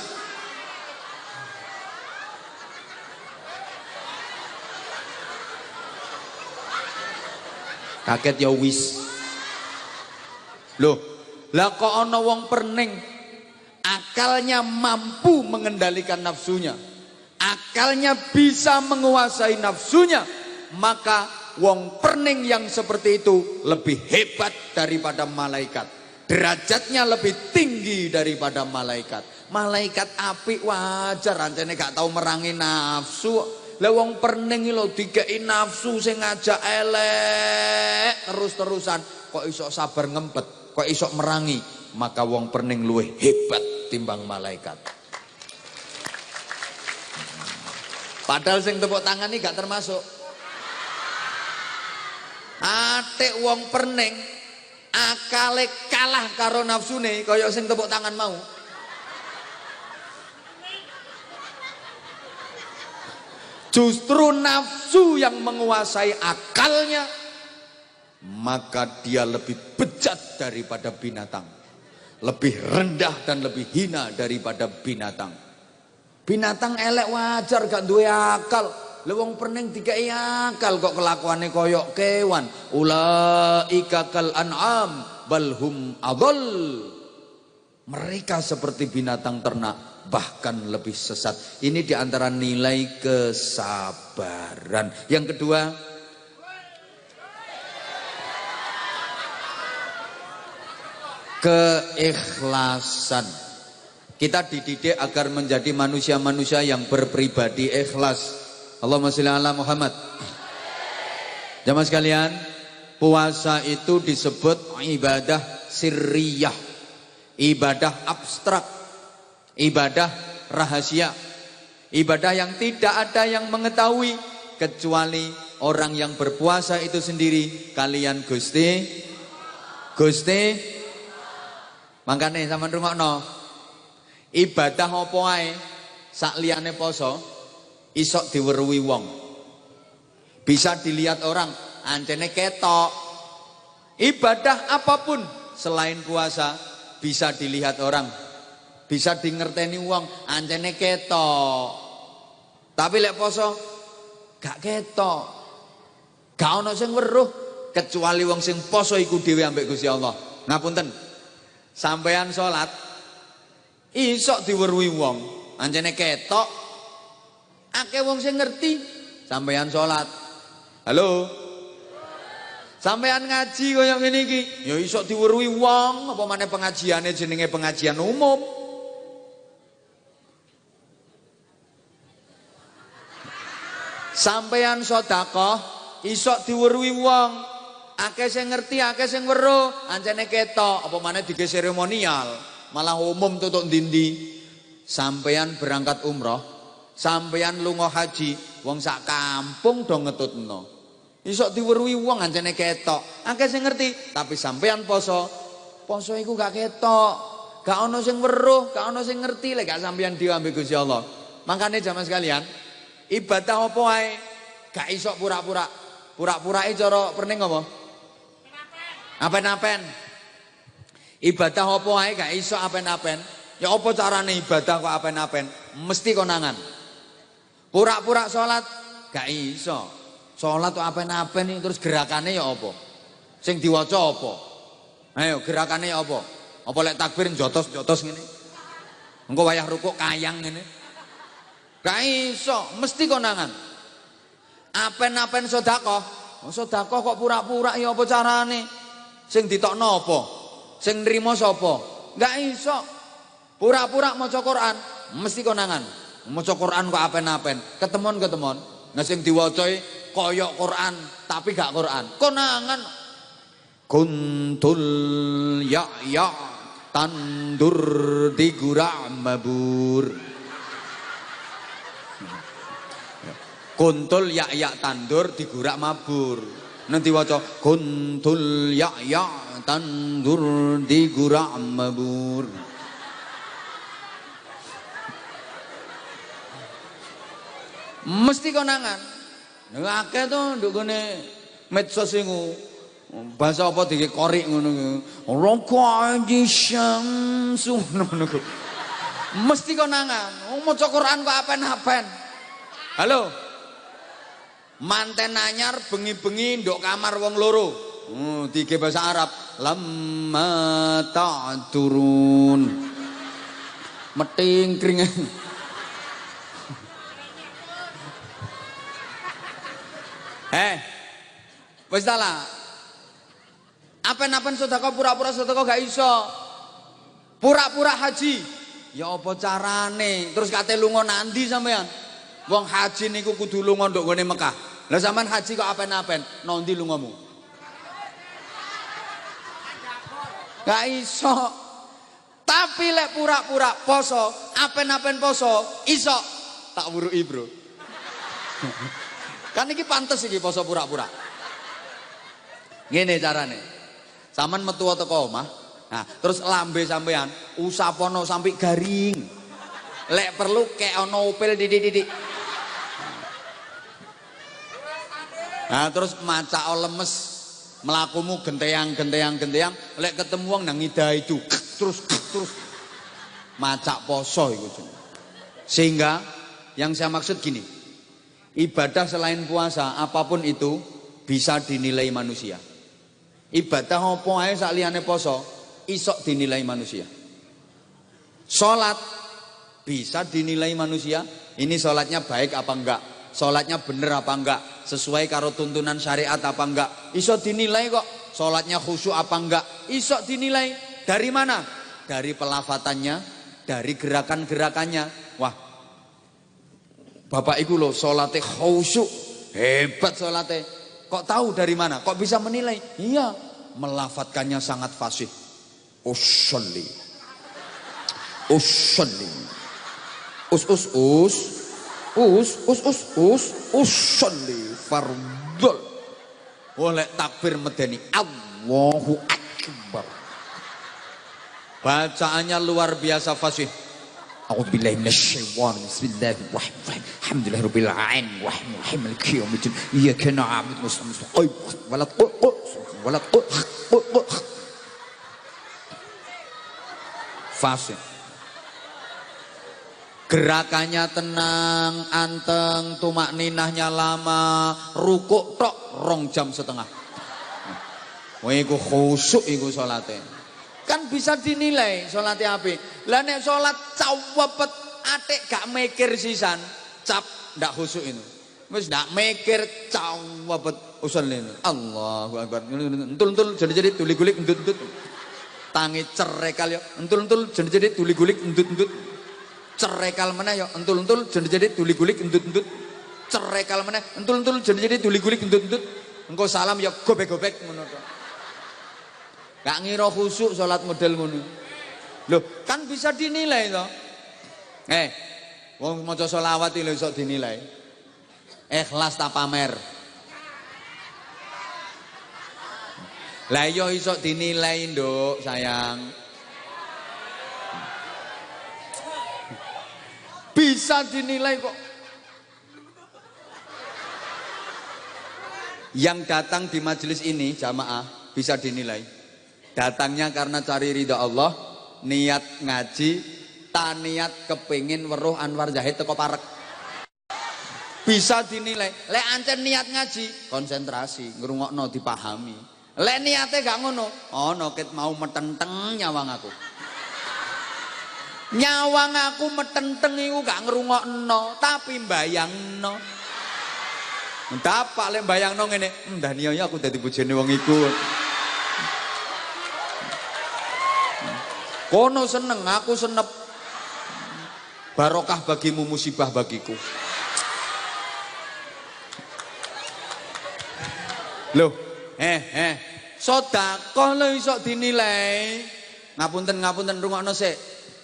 Kaget ya wis. Loh, lah kok ana wong perning akalnya mampu mengendalikan nafsunya, akalnya bisa menguasai nafsunya, maka wong perning yang seperti itu lebih hebat daripada malaikat. Derajatnya lebih tinggi daripada malaikat. Malaikat apik wajar, rancane gak tahu merangi nafsu. Lah wong perning lho dikei nafsu sing ngajak elek terus-terusan, kok iso sabar ngempet, kok iso merangi, maka wong perning luwih hebat timbang malaikat. Padahal sing tepuk tangan ini gak termasuk. Atik wong perning akale kalah karo nafsune kaya sing tepuk tangan mau. Justru nafsu yang menguasai akalnya, maka dia lebih bejat daripada binatang, lebih rendah dan lebih hina daripada binatang. Binatang elek wajar gak duwe akal, lewong pening dikai akal kok kelakuannya koyok kewan. Ulaika kal an'am balhum adol. Mereka seperti binatang ternak, bahkan lebih sesat. Ini diantara nilai kesabaran. Yang kedua, keikhlasan. Kita dididik agar menjadi manusia-manusia yang berpribadi ikhlas. Allahumma sholli ala Muhammad. Jamaah sekalian, puasa itu disebut ibadah sirriyah, ibadah abstrak, ibadah rahasia, ibadah yang tidak ada yang mengetahui kecuali orang yang berpuasa itu sendiri. Kalian Gusti makanya sama rungokno, ibadah apa ae sak liyane poso isok diweruhi wong, bisa dilihat orang, ancene ketok. Ibadah apapun selain puasa bisa dilihat orang, bisa dingerteni wong, ancene ketok. Tapi lek poso gak ketok, gak ono sing weruh kecuali wong sing poso iku dhewe ambek Gusti Allah. Ngapunten, sampean sholat isok diweruhi wong, ancene ketok, akeh wong sing ngerti sampean sholat. Halo, sampean ngaji kaya ngene iki ya isok diweruhi wong, apa maneh pengajiane jenenge pengajian umum. Sampean sedekah isok diweruhi wong, akeh sing ngerti, akeh sing weruh, ancene ketok, apa maneh dige seremonial, malah umum tutuk ndi-ndi. Sampean berangkat umroh, sampean lunga haji, wong sak kampung do ngetutno. Isok diweruhi wong ancene ketok, akeh sing ngerti, tapi sampean poso iku gak ketok, gak ono sing weruh, gak ono sing ngerti lek gak sampean dhewe ambek Gusti Allah. Makane jamaah sekalian, ibadah apa ae gak isok pura-pura. Pura-purake cara perning apa? Apen-apen. Ibadah apa ae gak iso apen-apen. Ya apa carane ibadah kok apen-apen? Mesti konangan. Pura-pura salat gak iso. Salat kok apen-apen iki terus gerakane ya apa? Sing diwaca apa? Ayo gerakane ya apa? Apa lek takbir jotos-jotos ngene? Engko wayah rukuk kayang ngene. Gak iso, mesti konangan. Apen-apen sedekah. Sedekah kok pura-pura ya apa carane? Sing ditokno apa? Sing nrimo sapa? Enggak iso. Pura-pura maca Quran, mesti konangan. Maca Quran kok apen-apen, ketemon-ketemon. Nah sing diwaca kaya Quran tapi gak Quran. Konangan. Kuntul ya tandur digura mabur. Kuntul ya tandur digurak mabur. Nanti waca kuntul ya tandur digurak mabur. Mesti konangan. Akeh to nduk gone medsos iku. Bahasa apa dikorik ngono ku. Raqadi syamsu ngono ku. Mesti konangan. Maca Quran kok apen-apen. Halo. Manten anyar bengi-bengi nduk kamar wong loro. Dige bahasa Arab. Lamma ta'turun. Meting kringan. Wis ta lah. Apen-apen sedekah pura-pura sedekah gak iso. Pura-pura haji. Ya apa carane? Terus kate lunga nandi sampean? Wong haji niku kudu lunga nduk gone Mekah. Lah sampean haji kok apen-apen, nondi lungamu? Gak iso. Tapi lek pura-pura poso, apen-apen poso, iso. Tak wuruki, Bro. Kan iki pantes iki poso pura-pura. Ngene carane. Saman metu teko omah. Nah, terus lambe sampean usapono sampai garing. Lek perlu kek ono upil didik-didik. Nah, terus macak lemes, melakumu genteyang, lek ketemu wong nang ngida itu, terus macak poso itu. Sehingga yang saya maksud gini, ibadah selain puasa apapun itu bisa dinilai manusia. Ibadah apa ae sak liyane poso isok dinilai manusia. Salat bisa dinilai manusia, ini salatnya baik apa enggak, salatnya bener apa enggak, sesuai karo tuntunan syariat apa enggak, iso dinilai kok. Salatnya khusyuk apa enggak, iso dinilai. Dari mana? Dari pelafatannya, dari gerakan-gerakannya. Wah, bapak iku loh salate khusyuk, hebat salate. Kok tahu dari mana? Kok bisa menilai? Iya, melafatkannya sangat fasih. Usolli, usolli, usolli fardul. Oleh takbir medeni Allahu Akbar. Bacaannya luar biasa fasih. A'udzubillahi minasyaitonir rajim. Bismillahirrahmanirrahim. Alhamdulillahirabbil alamin. Rahmanir maliki yaumiddin. Iyyaka na'budu wa iyyaka nasta'in. Fasih. Gerakannya tenang, anteng, tumak ninahnya lama, rukuk tok 2,5 jam. Wah, iku khusyuk iku salate. Kan bisa dinilai salate apik. Lah nek salat cawepet atik gak mikir sisan, cap ndak khusyuk itu. Wis ndak mikir cawepet usul ini. Allahu Akbar. Entul-entul jadi tuli-gulik endut-endut. Tangi cerekal yo, entul-entul jadi tuli-gulik endut-endut. Cerekal meneh yo, entul-entul jadi tuli-gulik endut-endut. Cerekal meneh, entul-entul jadi tuli-gulik endut-endut. Engko salam yo gobek-gobek ngono to. Gak ngira khusyuk salat model ngono. Loh, kan bisa dinilai to. Wong maca selawat iki lho iso dinilai. Ikhlas ta pamer. Lah yo iso dinilai, Nduk, sayang. Bisa dinilai kok. Yang datang di majelis ini jamaah bisa dinilai. Datangnya karena cari ridha Allah, niat ngaji, ta niat kepingin weruh Anwar Zahid teko parek. Bisa dinilai. Lek ancen niat ngaji, konsentrasi, ngrungokno dipahami. Lek niate gak ngono, ono ket mau metenteng nyawang aku. Nyawang aku metenteng iku gak ngrungokno, tapi mbayangno. Dapak lek mbayangno ngene, ndani aku dadi bojone wong iku. Kono seneng, aku senep. Barokah bagimu, musibah bagiku. Loh, sedekah lho iso dinilai. Ngapunten rungokno sik.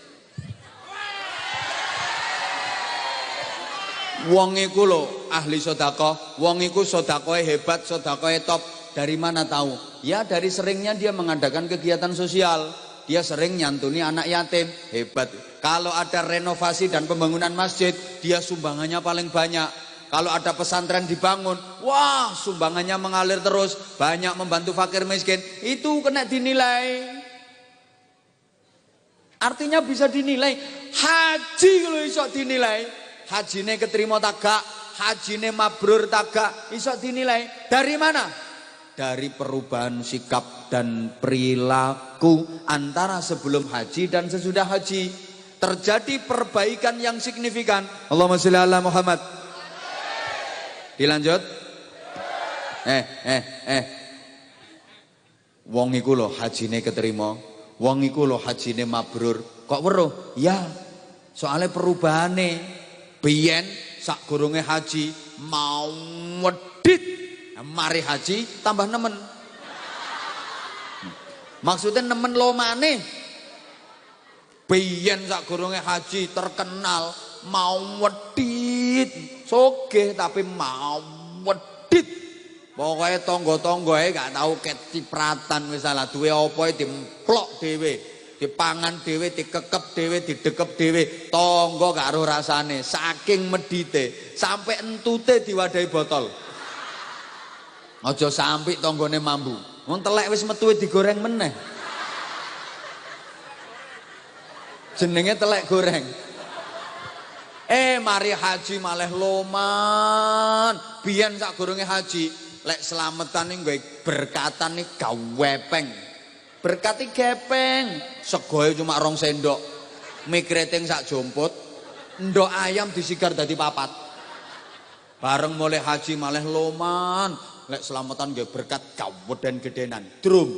Wong iku lho ahli sedekah, wong iku sedekahe hebat, sedekahe top. Dari mana tahu? Ya dari seringnya dia mengadakan kegiatan sosial. Dia sering nyantuni anak yatim, hebat. Kalau ada renovasi dan pembangunan masjid, dia sumbangannya paling banyak. Kalau ada pesantren dibangun, wah sumbangannya mengalir terus, banyak membantu fakir miskin, itu kena dinilai. Artinya bisa dinilai. Haji kalau iso dinilai, hajine keterima tagak, hajine mabrur tagak, iso dinilai. Dari mana? Dari perubahan sikap dan perilaku antara sebelum haji dan sesudah haji. Terjadi perbaikan yang signifikan. Allahumma sholli ala Muhammad. Dilanjut. Wong iku lho hajine keterima, wong iku lho hajine mabrur. Kok weruh? Ya, soalnya perubahane biyen sak goronge haji mau wedit, mari haji tambah nemen. Maksudnya nemen lomane. Biyen sak goronge haji terkenal mau wedit, sogeh tapi mau wedit. Pokoknya tonggo-tonggoe gak tahu kecipratan misalnya duwe apa dimplok dhewe, dipangan dhewe, dikekep dhewe, didekep dhewe, tonggo gak ero rasane, saking medite, sampai entute diwadahi botol. Aja sampai tonggone mambu. Wong telek wis metu digoreng meneh. Jenenge telek goreng. Mari haji malah loman. Biyen sak gorenge haji, lek slametan ning nggawe berkatan nih gawepeng. Berkati gepeng. Segoe cuma 2 sendok. Mie keriting sak jomput. Ndok ayam disigar dadi 4. Bareng mulai haji malah loman. Lek selamatan nggih berkat gaweden gedenan. Drum.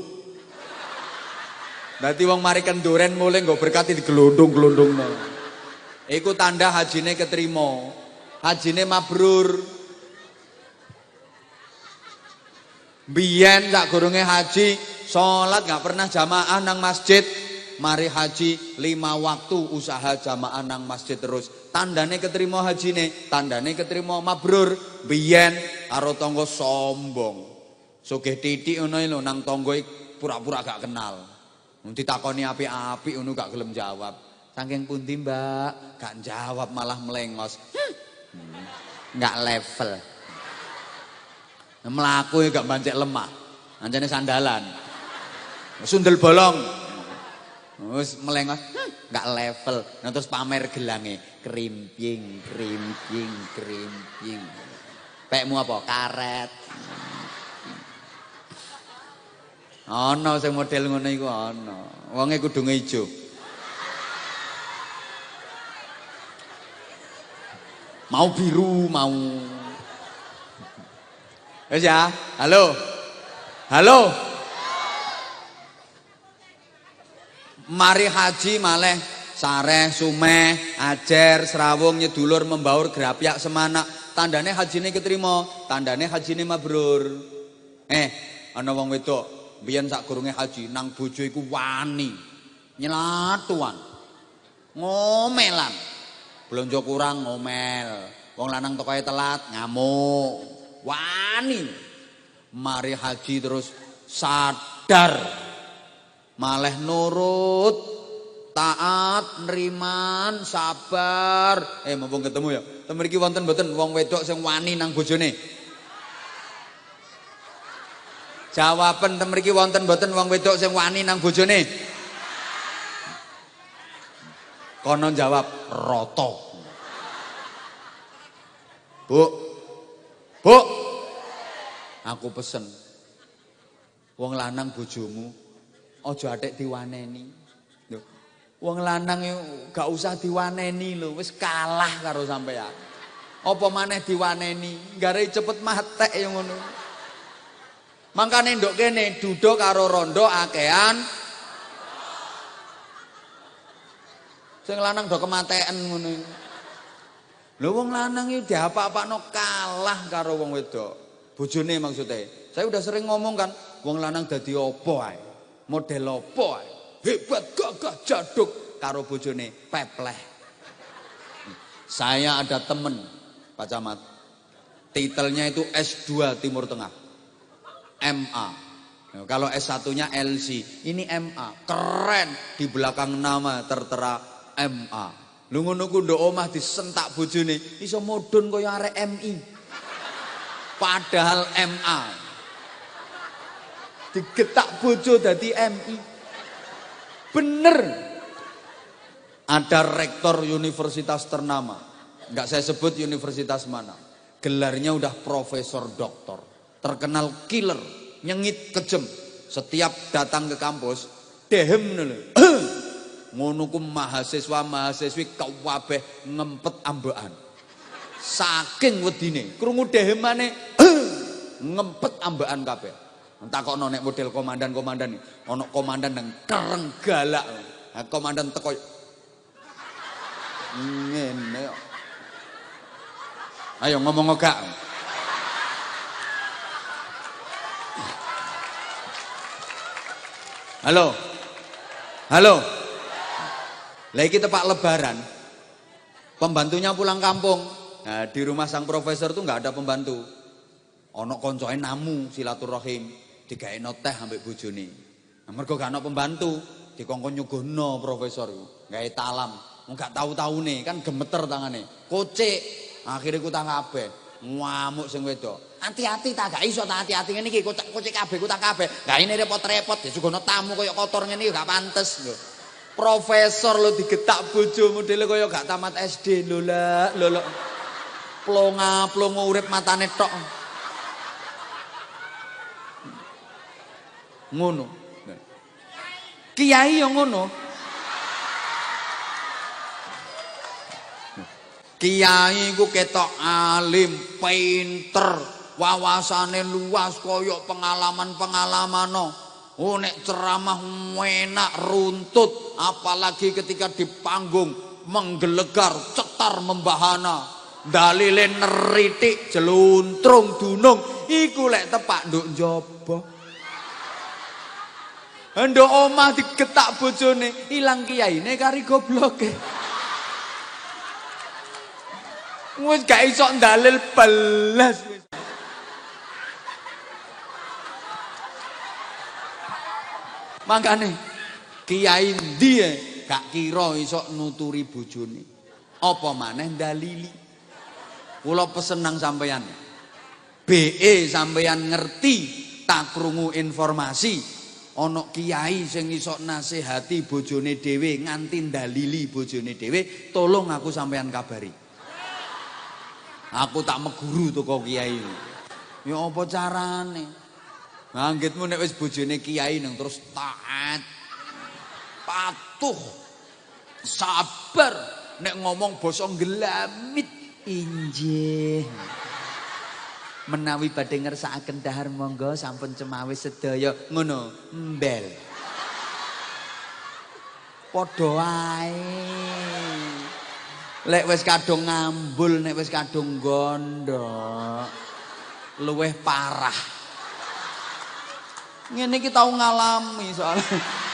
Dadi wong mari kenduren mulai nggo berkat digelondong-gelondongno. Iku tanda hajine ketrima. Hajine mabrur. Biyen sak goronge haji, salat gak pernah jamaah nang masjid. Mari haji 5 waktu usaha jamaah nang masjid terus. Tandane keterima hajine, tandane keterima mabrur. Biyen karo tangga sombong. Sugih titik ngono lho nang tangga pura-pura gak kenal. Ditakoni apik-apik ngono gak gelem jawab. Saking pundi, Mbak? Gak jawab malah melengos. Gak level. Mlaku gak bancek lemah. Anjane sandalan. Sundel bolong. Wis melengos, gak level. Nah terus pamer gelange, krimping, krimping, krimping. Pekmu apa? Karet. Ana sing model ngono iku ana. Wonge kudu ijo. Mau biru, mau. Wis ya, halo. Halo. Mari haji maleh sareh, sumeh, ajer, serawung, nyedulur, membaur, gerapyak, semanak. Tandane hajine ketrima, tandane hajine mabrur. Ana wong wedok biyen sak goronge haji nang bojo iku wani. Nyelatuan. Ngomelan. Blonjo kurang ngomel. Wong lanang tekoe telat ngamuk. Wani. Mari haji terus sadar. Maleh nurut, taat, neriman, sabar. Mumpung ketemu ya. Ten mriki wonten mboten wong wedok sing wani nang bojone? Jawaban ten mriki wonten mboten wong wedok sing wani nang bojone? Kono jawab rata. Bu. Bu. Aku pesen. Wong lanang bojomu aja atik diwaneni. Lho, wong lanang gak usah diwaneni lho, wis kalah karo sampean. Apa maneh diwaneni, gare cepet matek ya ngono. Mangkane nduk kene duduk karo rondo akehan. Sing lanang do kematean ngono. Lho wong lanang iki diapa-apakno kalah karo wong wedok. Bojone maksudnya. Saya udah sering ngomong kan, wong lanang dadi apa ae? Model apa ae? Hebat, gagah, jaduk karo bojone pepleh. Saya ada temen Pak Camat. Titelnya itu S2 Timur Tengah. MA. Nah, kalau S1-nya LC, ini MA. Keren, di belakang nama tertera MA. Lu ngono ku nduk omah disentak bojone, iso modon kaya arek MI. Padahal MA. Digetak bojo dadi MI. Bener. Ada rektor universitas ternama. Enggak saya sebut universitas mana. Gelarnya udah profesor doktor. Terkenal killer, nyengit kejem. Setiap datang ke kampus, dehem lho. Ngono ku mahasiswa-mahasiswi kabeh ngempet ambekan. Saking wedine, krungu dehemane ngempet ambekan kabeh. Entakokno nek model komandan-komandan iki, ana komandan nang kereng galak. Nah, komandan teko ngene kok. Ayo ngomong gak. Halo. Halo. Lah iki tepak lebaran. Pembantunya pulang kampung. Nah, di rumah sang profesor tuh nggak ada pembantu. Ana koncone namu silaturahim, digaekno teh ambek bojone. Nah, mergo gak ana pembantu, dikongkon nyuguhno profesor iku, gawe talam. Wong gak tau-taune kan gemeter tangane. Kocik, akhire kutang kabeh. Ngamuk sing wedok. Hati-hati ta gak iso ta hati-hati ngene iki kocik kabeh kutang kabeh. Gak ini repot-repot disuguhno tamu kaya kotor ngene iki gak pantes lho. Profesor lo digetak bojo modele kaya gak tamat SD lho lah lho. Plonga-plongo urip matane tok. Ngono. Kiai yang ngono. Kiai ku ketok alim, pinter, wawasane luas koyok pengalaman-pengalamano. Oh nek ceramah enak runtut, apalagi ketika di panggung menggelegar, cetar membahana, dalile neritik, jeluntrung dunung, iku lek tepak nduk njaba. Nduk omah digetak bojone, ilang kiyaine kari gobloke. Wis gak iso ndalil belas. Makane kiai ndi gak kira iso nuturi bojone. Apa maneh dalili. Kula pesen nang sampeyan. BE sampeyan ngerti tak krungu informasi ana kiai sing iso nasihati bojone dhewe nganti dalili bojone dhewe, tolong aku sampeyan kabari. Aku tak meguru teko kiai. Ya apa carane? Anggitmu nek wis bojone kiai nang terus taat, patuh, sabar, nek ngomong basa gelamit injih. Menawi badhe ngersakaken dahar monggo sampun cemawis sedaya ngono mbel. Padha ae. Lek wis kadung ngambul, nek wis kadung gondok, luweh parah. Ngene iki tau ngalami soalnya.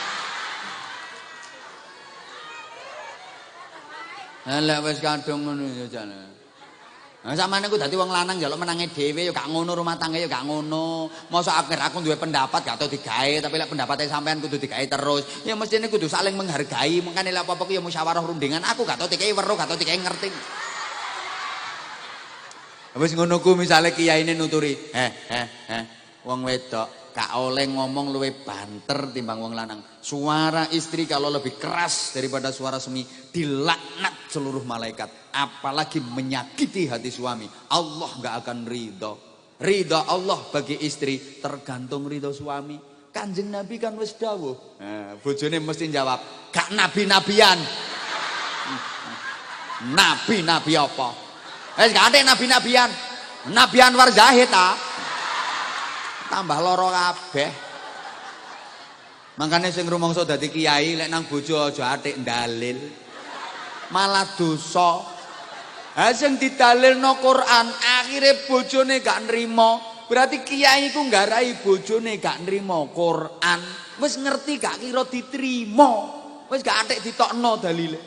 Lek wis kadung ngono ya jane. Nah sampeyan ku dadi wong lanang njaluk menange dhewe ya gak ngono, rumah tangga ya gak ngono. Mosok akhir aku duwe pendapat gak tau digawe, tapi lek pendapatnya sampean kudu digawe terus. Ya mestine kudu saling menghargai, mengkane lek apa-apa ku ya musyawarah rundingan. Aku gak tau digawe weruh, gak tau digawe ngerti. Wis ngono ku misale kiyaine nuturi, wong wedok gak oleh ngomong luwih banter timbang wong lanang. Suara istri kalau lebih keras daripada suara suami dilaknat seluruh malaikat. Apalagi menyakiti hati suami, Allah gak akan ridho. Ridho Allah bagi istri tergantung ridho suami. Kanjeng Nabi kan wis dawuh. Bojone mesti jawab, gak nabi-nabian. Nabi-nabi apa? Gak ada nabi-nabian. Nabi Anwar Zahid tambah loro kabeh. Makanya sing rumangsa dadi kiai lek nang bojo aja atik dalil. Malah dosa. Ha sing didalilno Quran, akhire bojone gak nrimo. Berarti kiai iku nggarai bojone gak nrimo Quran. Wis ngerti gak kira diterima. Wis gak atik ditokno dalile.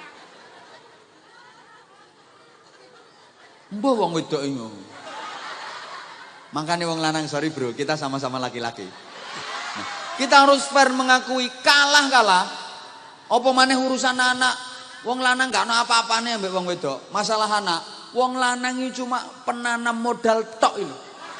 Mbah wong wedok iki. Makanya wong lanang, sorry bro, kita sama-sama laki-laki. Nah, kita harus fair mengakui kalah. Apa maneh urusan anak, wong lanang gak ana apa-apane ambek wong wedok. Masalah anak, wong lanang iki cuma penanam modal tok ini.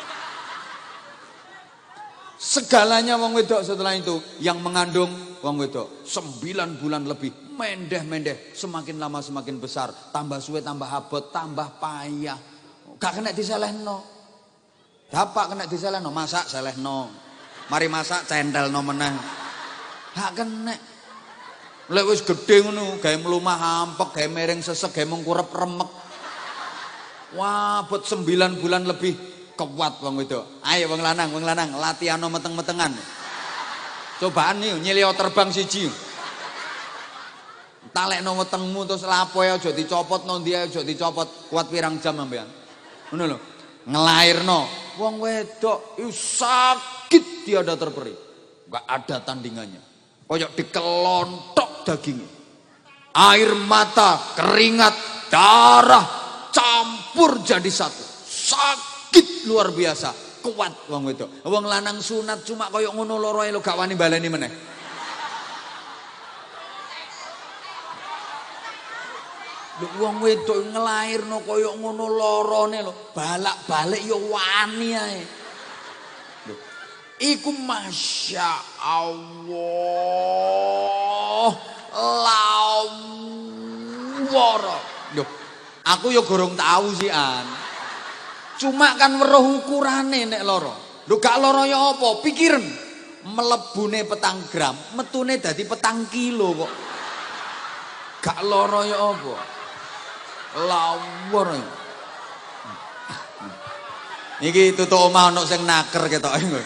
Segalanya wong wedok setelah itu yang mengandung wong wedok 9 bulan lebih, mendeh-mendeh, semakin lama semakin besar, tambah suwe tambah abot, tambah payah. Gak kena diselehno. Dapak kena diselehno, masak selehno. Mari masak centelno meneh. Gak kena. Lek wis gedhe ngono, gawe mlumah hampek, gawe mereng sesek, gawe mengkurep remek. Wah, buat 9 bulan lebih kuat wong wedok. Ayo wong lanang, latihano meteng-metengan. Cobaan nih, nyilio terbang siji. Talekno wetengmu terus lapoe aja dicopot, nondi aja dicopot. Kuat pirang jam sampean. Ngono lho. Ngelairno. Wong wedok itu sakit tiada terperi. Enggak ada tandingannya. Koyok dikelontok dagingnya. Air mata, keringat, darah campur jadi satu. Sakit sakit luar biasa. Kuat wong wedok. Wong lanang sunat cuma koyo ngono loroe lho gak wani baleni meneh. Lho wong wedok ngelairno koyo ngono lorone lho, balak-balik ya wani ae. Lho, iku Masya Allah lawara. Lho, aku ya gorong tahu sih an. Cuma kan weruh ukurane nek loro. Lho gak loro ya apa? Pikiren mlebune 4 gram, metune dadi 4 kilo kok. Gak loro ya apa? Lawar. Iki tutuk omah ono sing naker ketoke kowe.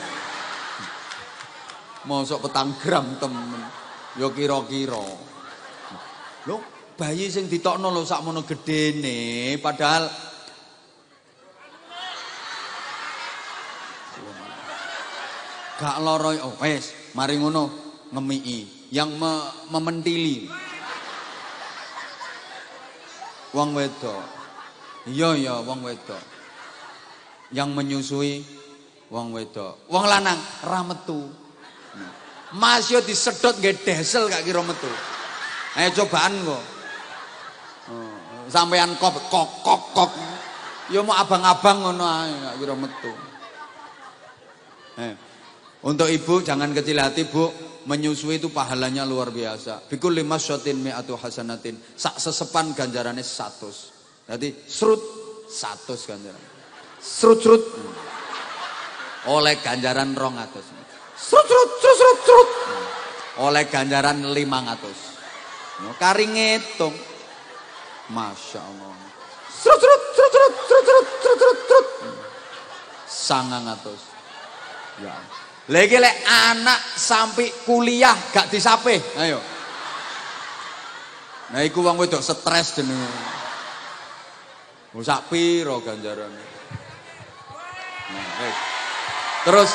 Mosok 4 gram temen. Ya kira-kira. Lho, bayi sing ditokno lho sakmono gedene, padahal gak loro. Oh, wes, mari ngono ngemiki yang mementili. Wong wedok. Iya wong wedok. Yang menyusui wong wedok. Wong lanang ra metu. Mas yo disedot nggih desel gak kira metu. Ayo cobaan kok. Sampean kok. Yo mau abang-abang ngono ae gak kira metu. Untuk ibu jangan kecil hati bu, menyusui itu pahalanya luar biasa. Bikul 5 syatin mi'atu hasanatin. Sak sesepan ganjarannya 100. Jadi serut 100 ganjaran. Serut. Oleh ganjaran 200. Serut. Oleh ganjaran 500. Kari ngitung. Masya Allah. Serut. 900. Ya. Lagi lek anak sampai kuliah gak disape, ayo. Nah iku wong wedok stres jenenge. Sak piro ganjarane. Nah, terus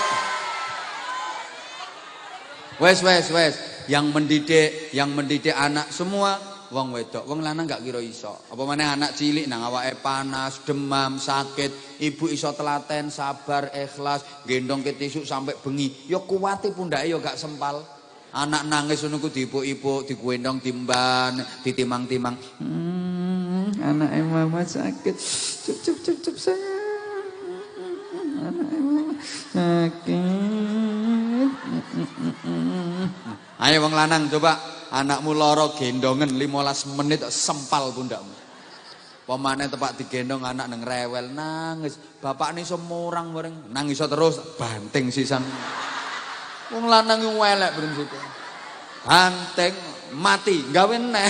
wes yang mendidik anak semua wong wedok, wong lanang gak kira iso. Apa maneh anak cilik nang awake panas, demam, sakit, ibu iso telaten, sabar, ikhlas, gendong ke tisu sampai bengi. Ya kuwate pundake ya gak sempal. Anak nangis ngono ku diipuk-ipuk, digendong timban, ditimang-timang. Anake mama sakit. Cup sayang. Anake mama sakit. Ayo wong lanang coba anakmu loro gendongen 15 menit sempal pundakmu. Pemane tepak digendong anak nang rewel nangis. Bapak ini semurang bareng nangis terus banting sisan. Wong lanang yang welek prinsip. Banting mati gawe neh.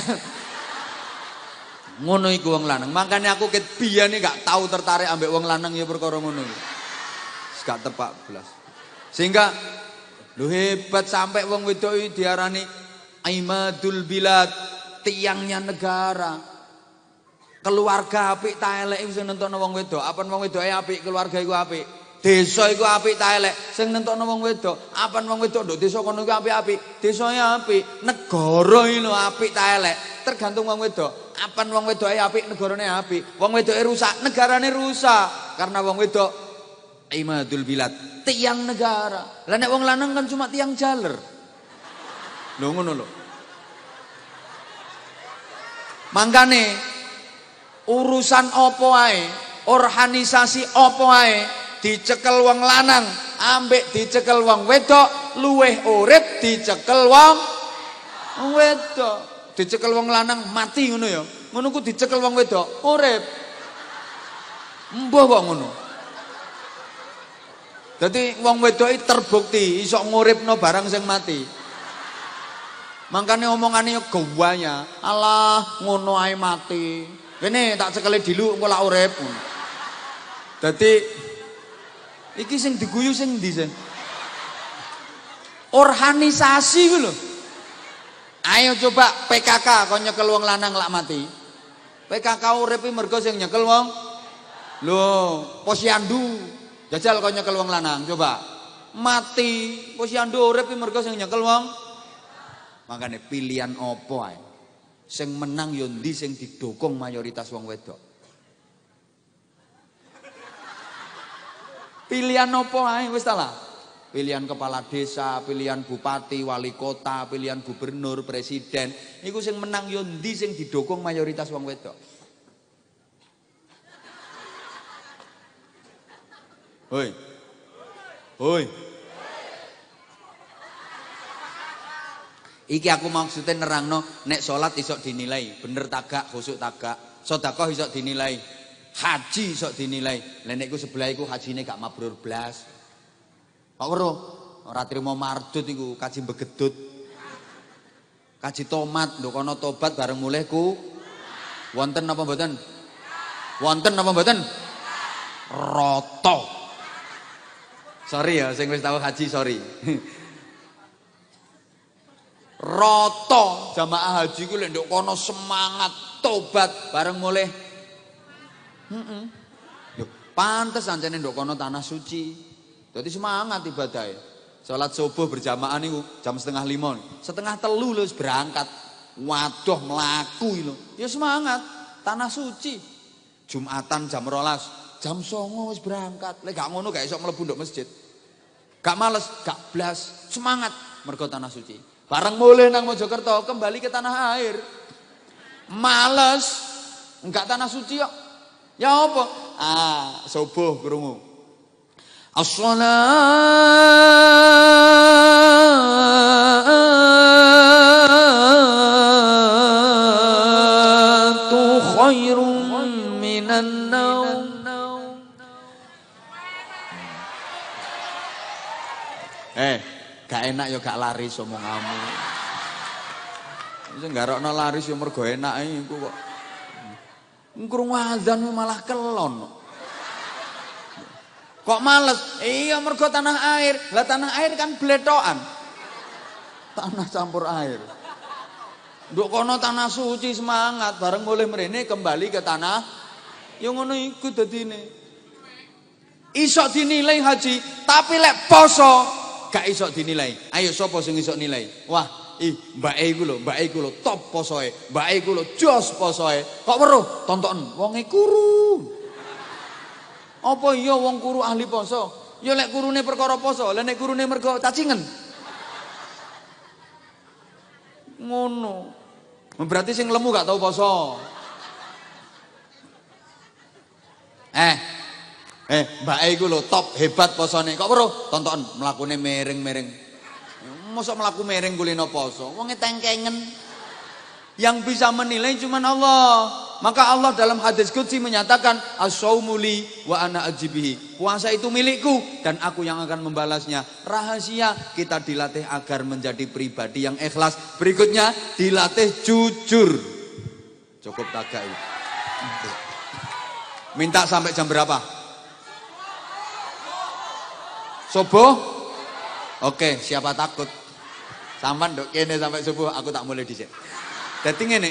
Ngono iku wong lanang. Makanya aku ket biyane gak tahu tertarik ambek wong lanang ya perkara ngono iki. Gak tepak belas. Sehingga lu hebat sampai wong wedok iki diarani Aimadul Bilad, tiangnya negara. Keluarga apik ta elek sing nentokno wong wedok. Apan wong wedoke apik, keluarga iku apik. Desa iku apik ta elek sing nentokno wong wedok. Apan wong wedok nduk desa kono iku apik-apik. Desane apik, negara iki lho apik ta elek. Tergantung wong wedok. Apan wong wedoke apik, negarane apik. Wong wedoke rusak, negarane rusak. Karena wong wedok Aimadul Bilad, tiang negara. Lah nek wong lanang kan cuma tiang jaler. Lho ngono lho. Mangkane urusan apa ae, organisasi apa ae dicekel wong lanang ambek dicekel wong wedok luweh urip dicekel wong wedok. Dicekel wong lanang mati ngono ya. Ngono ku dicekel wong wedok urip. Mbah kok ngono. Dadi wong wedok iki terbukti iso nguripno barang sing mati. Makanya omongannya gawanya, alah ngono ae mati. Kene tak cekeli dilu engko lak urip. Dadi iki sing diguyu sing ndi sing? Organisasi ku lho. Ayo coba PKK kon nyekel wong lanang lak mati. PKK uripe mergo sing nyekel wong. Lho, posyandu. Jajal kon nyekel wong lanang coba. Mati, posyandu urip mergo sing nyekel wong. Makanya pilihan apa ae. Sing menang yo ndi sing didukung mayoritas wong wedok. Pilihan opo ae wis ta lah. Pilihan kepala desa, pilihan bupati, wali kota, pilihan gubernur, presiden. Iku sing menang yo ndi sing didukung mayoritas wong wedok. Hoi. Hoi. Iki aku maksudnya nerangno nek salat iso dinilai, bener tagak, khusuk tagak, sedekah iso dinilai, haji iso dinilai. Lah nek iku sebelah iku hajine gak mabrur blas. Kok weruh? Ora trimo mardut iku kaji begedut. Kaji tomat nduk kono tobat bareng mulih ku. Wonten apa mboten? Wonten apa mboten? Roto. Sorry ya sing wis tau haji sorry. Roto jamaah haji ku lek nduk kono semangat tobat bareng mulih. Yo pantes ancene nduk kono tanah suci. Jadi semangat ibadahnya. Salat subuh berjamaah niku jam 4:30. 2:30 lho berangkat. Waduh mlaku lho. Ya semangat. Tanah suci. Jumatan jam 12. Jam 09:00 wis berangkat. Lek gak ngono gak iso mlebu nduk masjid. Gak males, gak blas. Semangat mergo tanah suci. Bareng mulih nang Mojokerto kembali ke tanah air. Males. Enggak tanah suci kok. Ya apa? Subuh krungu. As-salatu khairun minan naum. Gak enak ya gak laris omonganmu. Sing garokno laris ya mergo enak iku kok. Krungu azan malah kelon. Kok males? Iya mergo tanah air. Lah tanah air kan bletokan. Tanah campur air. Nduk kono tanah suci semangat bareng mulih mrene kembali ke tanah. Ya ngono iku dadine. Iso dinilai haji, tapi lek poso gak iso dinilai. Ayo sapa sing iso nilai? Wah, mbake iku lho top posoe. Mbake iku lho jos posoe. Kok weruh tonton wonge kuru. Apa iya wong kuru ahli poso? Ya lek kurune perkara poso, lek nek kurune mergo cacingen. Ngono. Berarti sing lemu gak tau poso. Mbake iku lho top hebat posone. Kok weruh tonton mlakune miring-miring. Mosok mlaku miring kulino poso. Wonge tengkengen. Yang bisa menilai cuma Allah. Maka Allah dalam hadis qudsi menyatakan as-shaumu li wa ana ajibihi. Puasa itu milikku dan aku yang akan membalasnya. Rahasia kita dilatih agar menjadi pribadi yang ikhlas. Berikutnya dilatih jujur. Cukup tagak. Minta sampai jam berapa? Subuh? Oke, siapa takut? Sampan nduk kene sampai subuh aku tak mulai dhisik. Dadi ngene.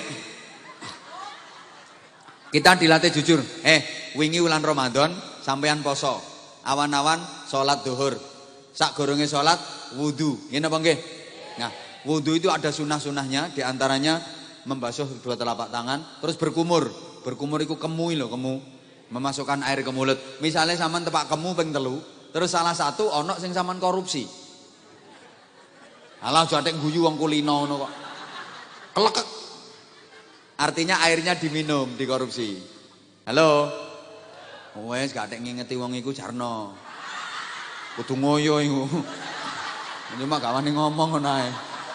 Kita dilatih jujur. Wingi wulan Ramadan sampean poso. Awan-awan salat zuhur. Sak goronge salat wudu. Ngene apa nggih? Nah, wudu itu ada sunah-sunahnya, di antaranya membasuh kedua telapak tangan, terus berkumur. Berkumur itu kemu lho, kemu. Memasukkan air ke mulut. Misalnya sampean tepak kemu ping 3, terus salah satu ono sing sampean korupsi. Alah jatek guyu wong kulino ngono kok. Kelekek. Artinya airnya diminum, dikorupsi. Halo. Wes gak tek ngingeti wong iku jarno. Kudu ngoyo iku. Cuma gak wani ngomong ngono ae.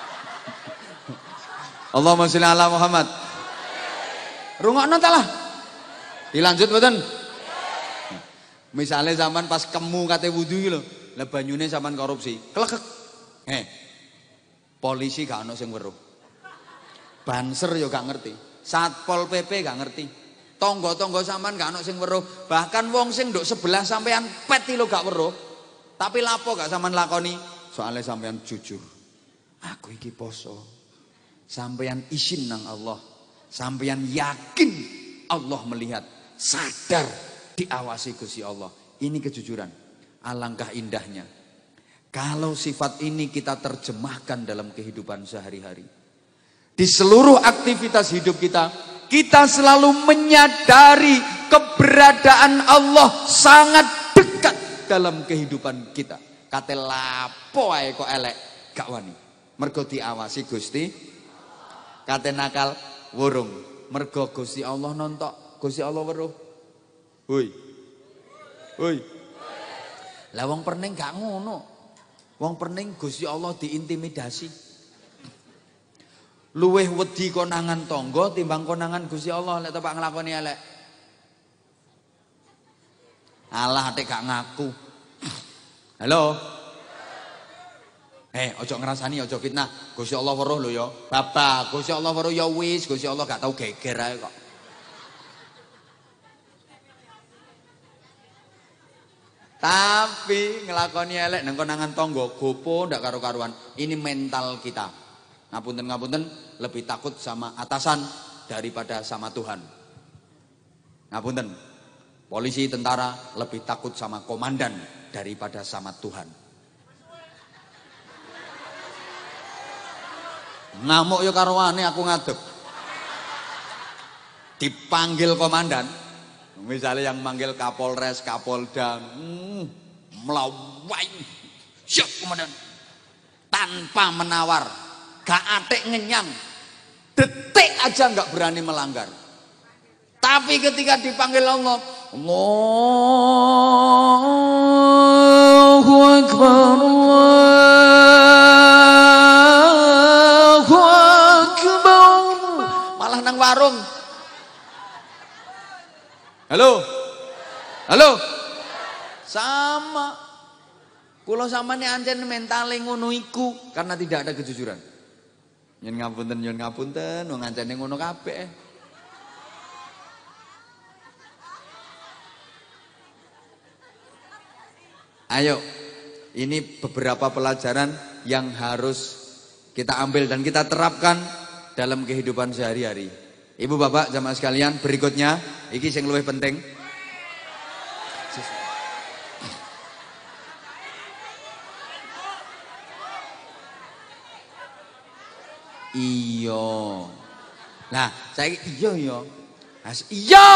Allahumma sholli ala Muhammad. Rungokno ta lah. Dilanjut mboten? Misale zaman pas kemu kate wudu iki lho, lah banyune sampean korupsi. Klekek. Polisi gak ono sing weruh. Banser yo gak ngerti. Satpol PP gak ngerti. Tonggo-tonggo sampean gak ono sing weruh. Bahkan wong sing nduk sebelah sampean pet lho gak weruh. Tapi lapo gak sampean lakoni? Soalnya sampean jujur. Aku iki poso. Sampean isin nang Allah. Sampean yakin Allah melihat. Sadar diawasi Gusti Allah. Ini kejujuran. Alangkah indahnya. Kalau sifat ini kita terjemahkan dalam kehidupan sehari-hari. Di seluruh aktivitas hidup kita, kita selalu menyadari keberadaan Allah sangat dekat dalam kehidupan kita. Kate lapo ae kok elek gak wani. Mergo diawasi Gusti. Kate nakal wurung. Mergo Gusti Allah nontok, Gusti Allah weruh. Hoi. Hoi. Lah wong pening gak ngono. Wong pening Gusti Allah diintimidasi. Luweh wedi konangan tangga timbang konangan Gusti Allah lek tepak nglakoni elek. Alah atik gak ngaku. Halo. Ojo ngrasani, ojo fitnah. Gusti Allah weruh lho ya. Bapak, Gusti Allah weruh ya wis, Gusti Allah gak tau geger ae kok. Tapi ngelakoni elek nang konangan tangga gopo ndak karo-karuan. Ini mental kita. Ngapunten-ngapunten, lebih takut sama atasan daripada sama Tuhan. Ngapunten. Polisi, tentara lebih takut sama komandan daripada sama Tuhan. Ngamuk yo karwane aku ngadeg. Dipanggil komandan, misalnya yang manggil Kapolres, Kapolda, melawai, siap komandan, tanpa menawar, gak atik ngenyang, detik aja gak berani melanggar. Tapi ketika dipanggil Allah, Allahu Akbar, Allahu Akbar, malah nang warung. Halo, halo, sama. Kulo samane ancen mentale ngono iku karena tidak ada kejujuran. Nyun ngapunten, wong ancene ngono kabeh. Ayo, ini beberapa pelajaran yang harus kita ambil dan kita terapkan dalam kehidupan sehari-hari. Ibu bapak jamaah sekalian, berikutnya iki sing luwih penting. Iya. Nah, saiki iya. Iya.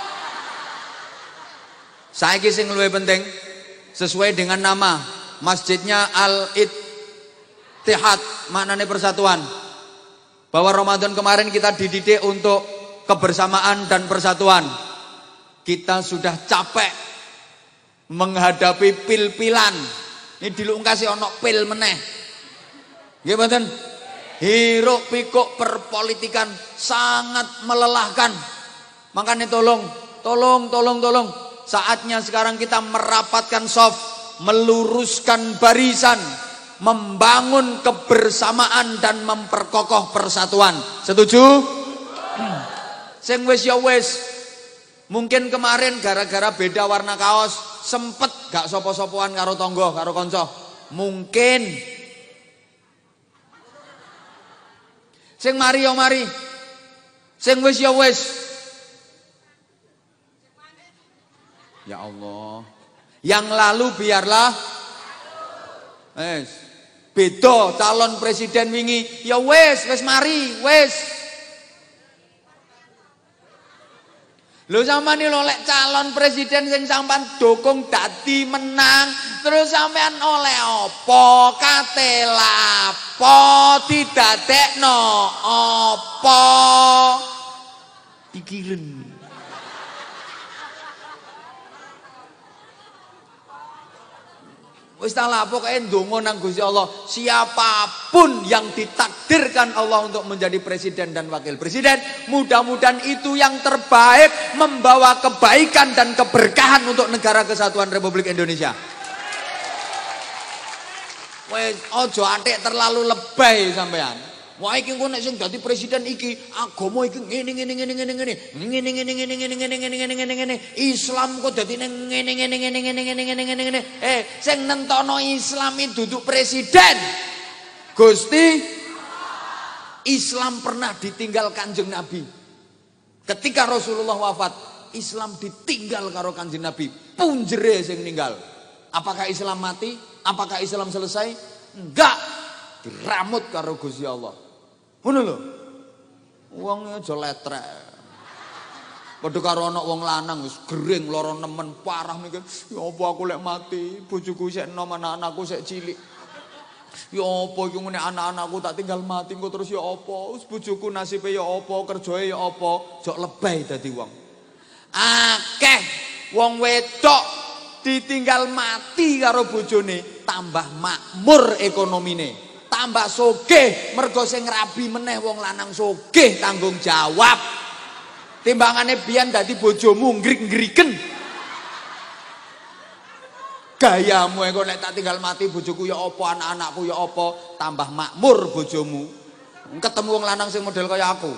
Saiki sing luwih penting sesuai dengan nama masjidnya Al-Ittihad, maknanya persatuan. Bahwa Ramadan kemarin kita dididik untuk kebersamaan dan persatuan. Kita sudah capek menghadapi pil-pilan. Ini dilung kasih ono pil meneh. Nggih mboten? Hiruk pikuk perpolitikan sangat melelahkan. Makanya tolong. Saatnya sekarang kita merapatkan saf, meluruskan barisan, membangun kebersamaan dan memperkokoh persatuan. Setuju? Sing wis ya wis. Mungkin kemarin gara-gara beda warna kaos sempet gak sopo-sopoan karo tonggo, karo konco. Mungkin. Sing mari ya mari. Sing wis ya wis. Ya Allah. Yang lalu biarlah. Beda calon presiden wingi. Ya wis mari, wis. Lho sampean lho lek calon presiden sing sampean dukung dadi menang, terus sampean oleh apa? Kate lapo didadekno apa? Pikirin. Wis ta lah pokoke ndonga nang Gusti Allah, siapapun yang ditakdirkan Allah untuk menjadi presiden dan wakil presiden, mudah-mudahan itu yang terbaik, membawa kebaikan dan keberkahan untuk negara kesatuan Republik Indonesia. Wis aja atik terlalu lebay sampean. Wah iki engko nek sing dadi presiden iki agama iki ngene. Islam kok dadi ngene. Sing nentono Islam iki duduk presiden. Gusti Islam pernah ditinggal Kanjeng Nabi. Ketika Rasulullah wafat, Islam ditinggal karo Kanjeng Nabi. Punjere sing ninggal. Apakah Islam mati? Apakah Islam selesai? Enggak. Diramut karo Gusti Allah. Ngono lho. Wong aja letrek. Padha karo ana wong lanang wis gering lara nemen parah mikir, ya apa aku lek mati, bojoku sik enom, anak-anakku sik cilik. Ya apa iki ngene anak-anakku tak tinggal mati engko terus ya apa? Wis bojoku nasibe ya apa, kerjae ya apa, jok lebay dadi wong. Akeh wong wedok ditinggal mati karo bojone, tambah makmur ekonomine, tambah sugih mergo sing rabi meneh wong lanang sugih tanggung jawab. Timbangane biyen dadi bojomu ngrik-ngriken. Gayamu engko nek tak tinggal mati bojoku ya apa, anak-anakku ya apa, tambah makmur bojomu. Ketemu wong lanang sing model kaya aku.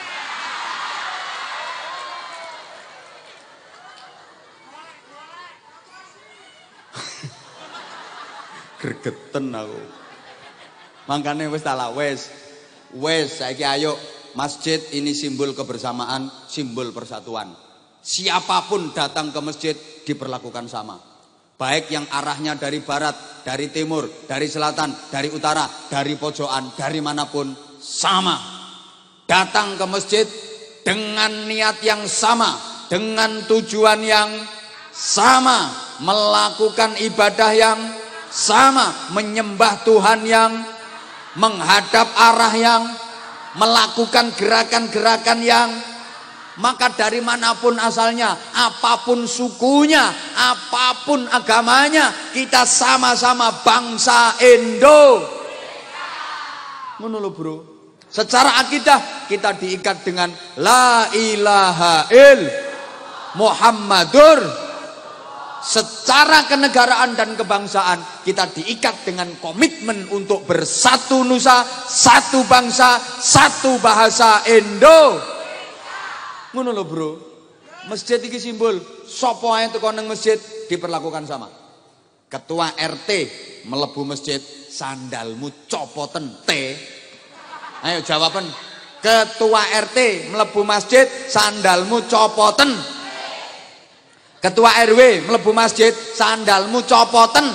Gregeten aku. Makanya wis tak wis saiki ayo masjid ini simbol kebersamaan, simbol persatuan. Siapapun datang ke masjid diperlakukan sama. Baik yang arahnya dari barat, dari timur, dari selatan, dari utara, dari pojokan, dari manapun sama. Datang ke masjid dengan niat yang sama, dengan tujuan yang sama, melakukan ibadah yang sama, menyembah Tuhan yang, menghadap arah yang, melakukan gerakan-gerakan yang, maka dari manapun asalnya, apapun sukunya, apapun agamanya, kita sama-sama bangsa Indo. Ngono lho, Bro. Secara akidah kita diikat dengan la ilaha illallah Muhammadur. Secara kenegaraan dan kebangsaan kita diikat dengan komitmen untuk bersatu nusa, satu bangsa, satu bahasa Indo. Ngono lho, Bro. Masjid iki simbol, sapa ae teko nang masjid diperlakukan sama. Ketua RT mlebu masjid, sandalmu copoten T. Ayo jawaban. Ketua RT mlebu masjid, sandalmu copoten. Ketua RW mlebu masjid, sandalmu copoten.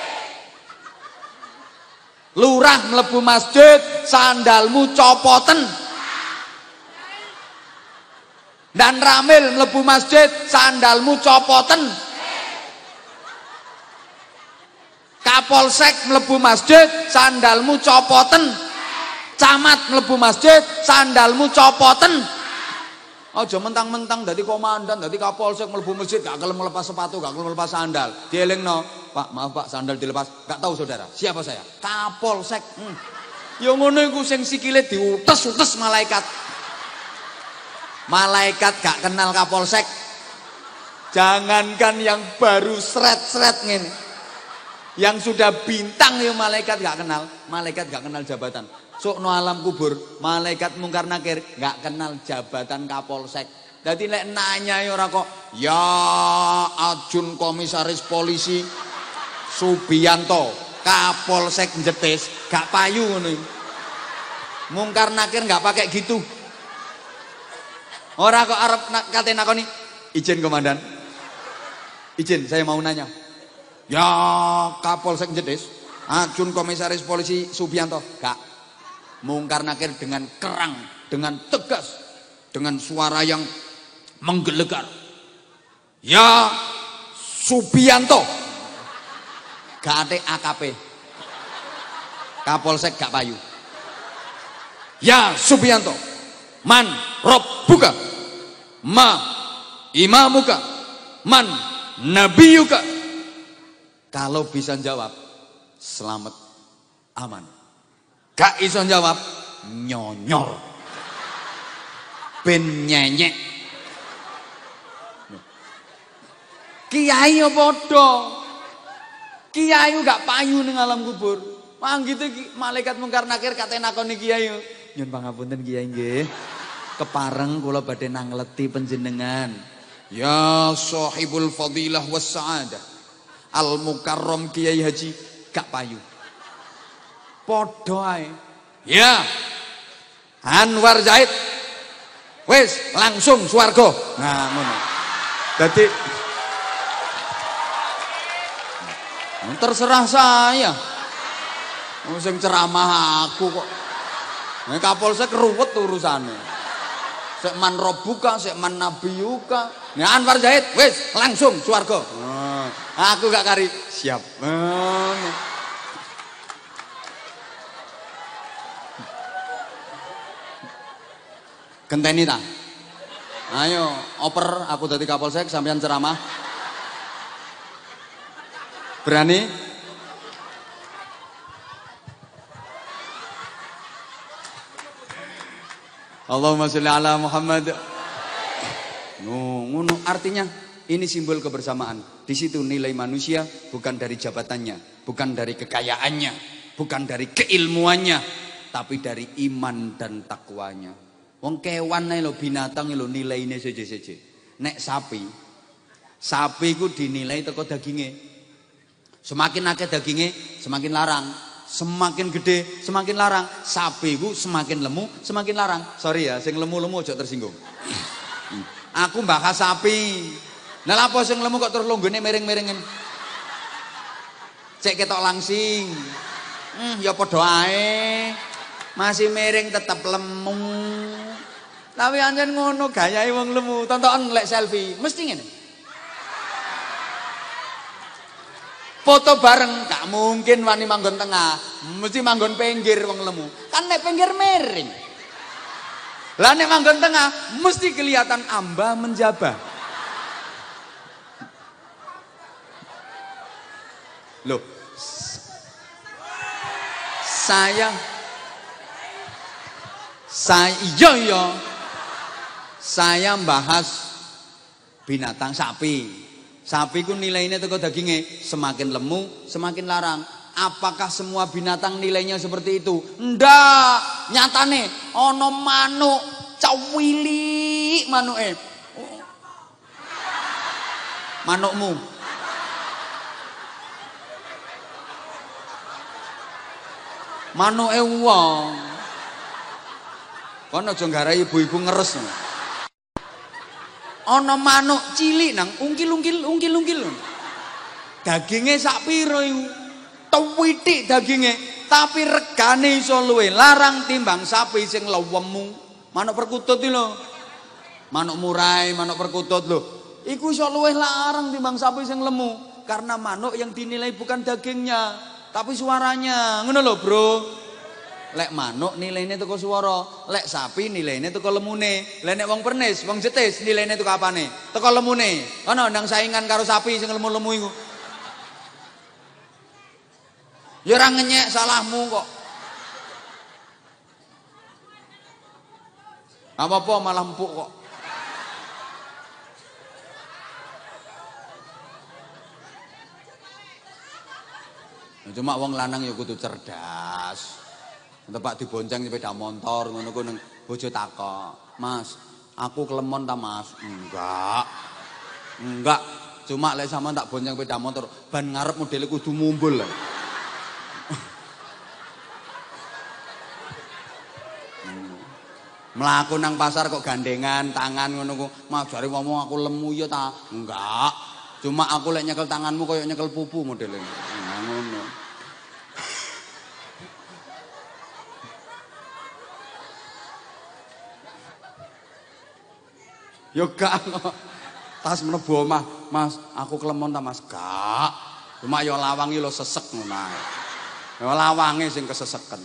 Lurah mlebu masjid, sandalmu copoten. Dan Ramil mlebu masjid, sandalmu copoten. Kapolsek mlebu masjid, sandalmu copoten. Camat mlebu masjid, sandalmu copoten. Aja mentang-mentang dadi komandan, dadi kapolsek mlebu masjid gak gelem melepas sepatu, gak gelem melepas sandal. Dielingno, Pak, maaf Pak, sandal dilepas. Gak tahu saudara, siapa saya? Kapolsek. Ya ngono iku sing sikile diutes-utes malaikat. Malaikat gak kenal kapolsek. Jangankan yang baru sret-sret ngene. Yang sudah bintang ya malaikat gak kenal. Malaikat gak kenal jabatan. Sukno alam kubur, malaikat mungkar nakir gak kenal jabatan kapolsek. Jadi lek nanya ora kok, ya Ajun Komisaris Polisi Subianto, Kapolsek Jetis, gak payu ngono. Mungkar nakir gak pakai gitu. Ora kok arep kate nakoni, izin komandan. Izin, saya mau nanya. Ya Kapolsek Jetis, Ajun Komisaris Polisi Subianto, gak. Mungkar nakir dengan kerang, dengan tegas, dengan suara yang menggelegar. Ya Subianto, gak ada AKP. Kapolsek gak payu. Ya Subianto, man robbuka, ma imamuka, man nabiyuka. Kalau bisa jawab, selamat, aman. Gak iso jawab, nyonyor, ben nyenyek. Kiai apa do? Kiai gak payu ning alam kubur. Mang gitu malaikat mungkar nakir kate nakoni kiai. Nyun pangapunten kiai nggih. Kepareng kula badhe nangleti panjenengan. Ya sahibul fadilah was saadah. Al mukarram Kiai Haji gak payu. Podo ae. Ya. Anwar Zaid. Wis langsung swarga. Nah, ngono. Dadi terserah saya. Sing ceramah aku kok. Nek Kapolsek ruwet urusane. Sek man robuka, sek man nabiyuka. Nah Anwar Zahid, wis langsung swarga. Aku gak kari. Siap. Genteni ta? Ayo, oper aku dadi Kapolsek sampean ceramah. Berani? Allahumma sholli ala Muhammad. Ngono artinya ini simbol kebersamaan. Di situ nilai manusia bukan dari jabatannya, bukan dari kekayaannya, bukan dari keilmuannya, tapi dari iman dan takwanya. Wong kewan ae lho, binatang lho nilaine seje-seje. Nek sapi ku dinilai teko daginge. Semakin akeh daginge, semakin larang. Semakin gede, semakin larang. Sapi ku semakin lemu, semakin larang. Sorry ya, sing lemu-lemu aja tersinggung. Aku bahas sapi. Nah lapo sing lemu kok terus longgone miring-miringin. Cek ketok langsing. Ya padha ae. Masih miring tetep lemu. Tapi anjen ngono gayahe wong lemu. Tontonan lek selfie, mesti ngene. Foto bareng gak mungkin wani manggon tengah, mesti manggon pinggir wong lemu. Kan nek pinggir miring. Lah nek manggon tengah mesti kelihatan amba menjabah. Loh. Saya iya. Saya bahas binatang sapi. Sapi ku nilainya teko dagingnya semakin lemu, semakin larang. Apakah semua binatang nilainya seperti itu? Ndak. Nyatane ono manuk cawili manuke. Manukmu. Manuke wong. Kono aja nggarai ibu-ibu ngeres. Ana manuk cilik nang ungkil-ungkil. Daginge sak pira iku? Tuwitik daginge, tapi regane iso luwe larang timbang sapi sing lewemu. Manuk perkutut iki lho. Manuk murai, manuk perkutut lho. Iku iso luwe larang timbang sapi sing lemu karena manuk yang dinilai bukan dagingnya, tapi suaranya. Ngono lho, Bro. Lek manuk nilainya teko swara, lek sapi nilainya teko lemune. Lek nek wong pernis, wong jetis nilainya teko apane? Teko lemune. Ana ndang saingan karo sapi sing lemu-lemu iku. Ya ora ngenyek salahmu kok. Apa-apa malah empuk kok. Cuma wong lanang ya kudu cerdas. Tempat dibonceng sepeda motor ngono ku nang bojo takok, "Mas, aku kelemon ta, Mas?" Enggak. Cuma lek sampean tak bonceng sepeda motor, ban ngarep modele kudu mumbul. Mlaku nang pasar kok gandengan tangan ngono ku, "Mas, jare ngomong aku lemu ya ta?" Enggak. Cuma aku lek nyekel tanganmu koyo nyekel pupu modele. Ngono. Yo gak tas mlebu omah, "Mas, aku kelemon ta, Mas?" Gak. Cuma yo lawangi lo sesek ngono ae. Yo lawange sing keseseken.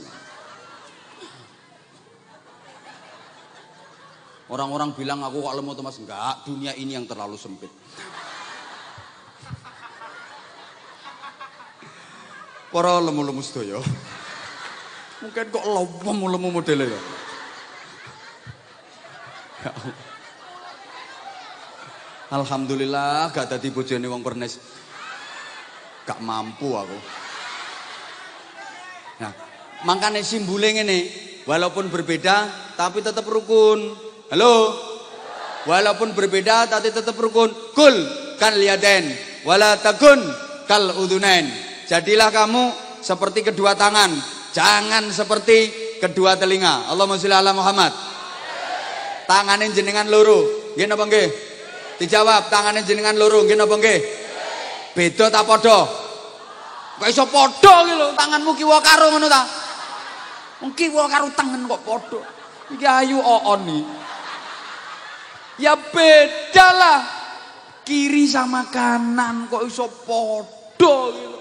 Orang-orang bilang aku kok lemu tuh, Mas. Enggak, dunia ini yang terlalu sempit. Para lemu-lemu sedaya. Mungkin kok lemu modele ya. Alhamdulillah gak dadi bojone wong pernis. Gak mampu aku. Nah, makanya simbole ngene, walaupun berbeda tapi tetap rukun. Halo? Walaupun berbeda tapi tetap rukun. Kul kan liaden, wala takun kal udunain. Jadilah kamu seperti kedua tangan, jangan seperti kedua telinga. Allahumma sholli ala Muhammad. Tanganin jenengan loro, nggih napa nggih? Dijawab, tangannya jenengan loro nggih napa nggih? Beda ta padha? Kok iso padha iki lho, tanganmu kiwa karo ngono ta? Wong kiwa karo tangan kok padha. Iki ayu oon iki. Ya beda lah. Kiri sama kanan kok iso podo gitu.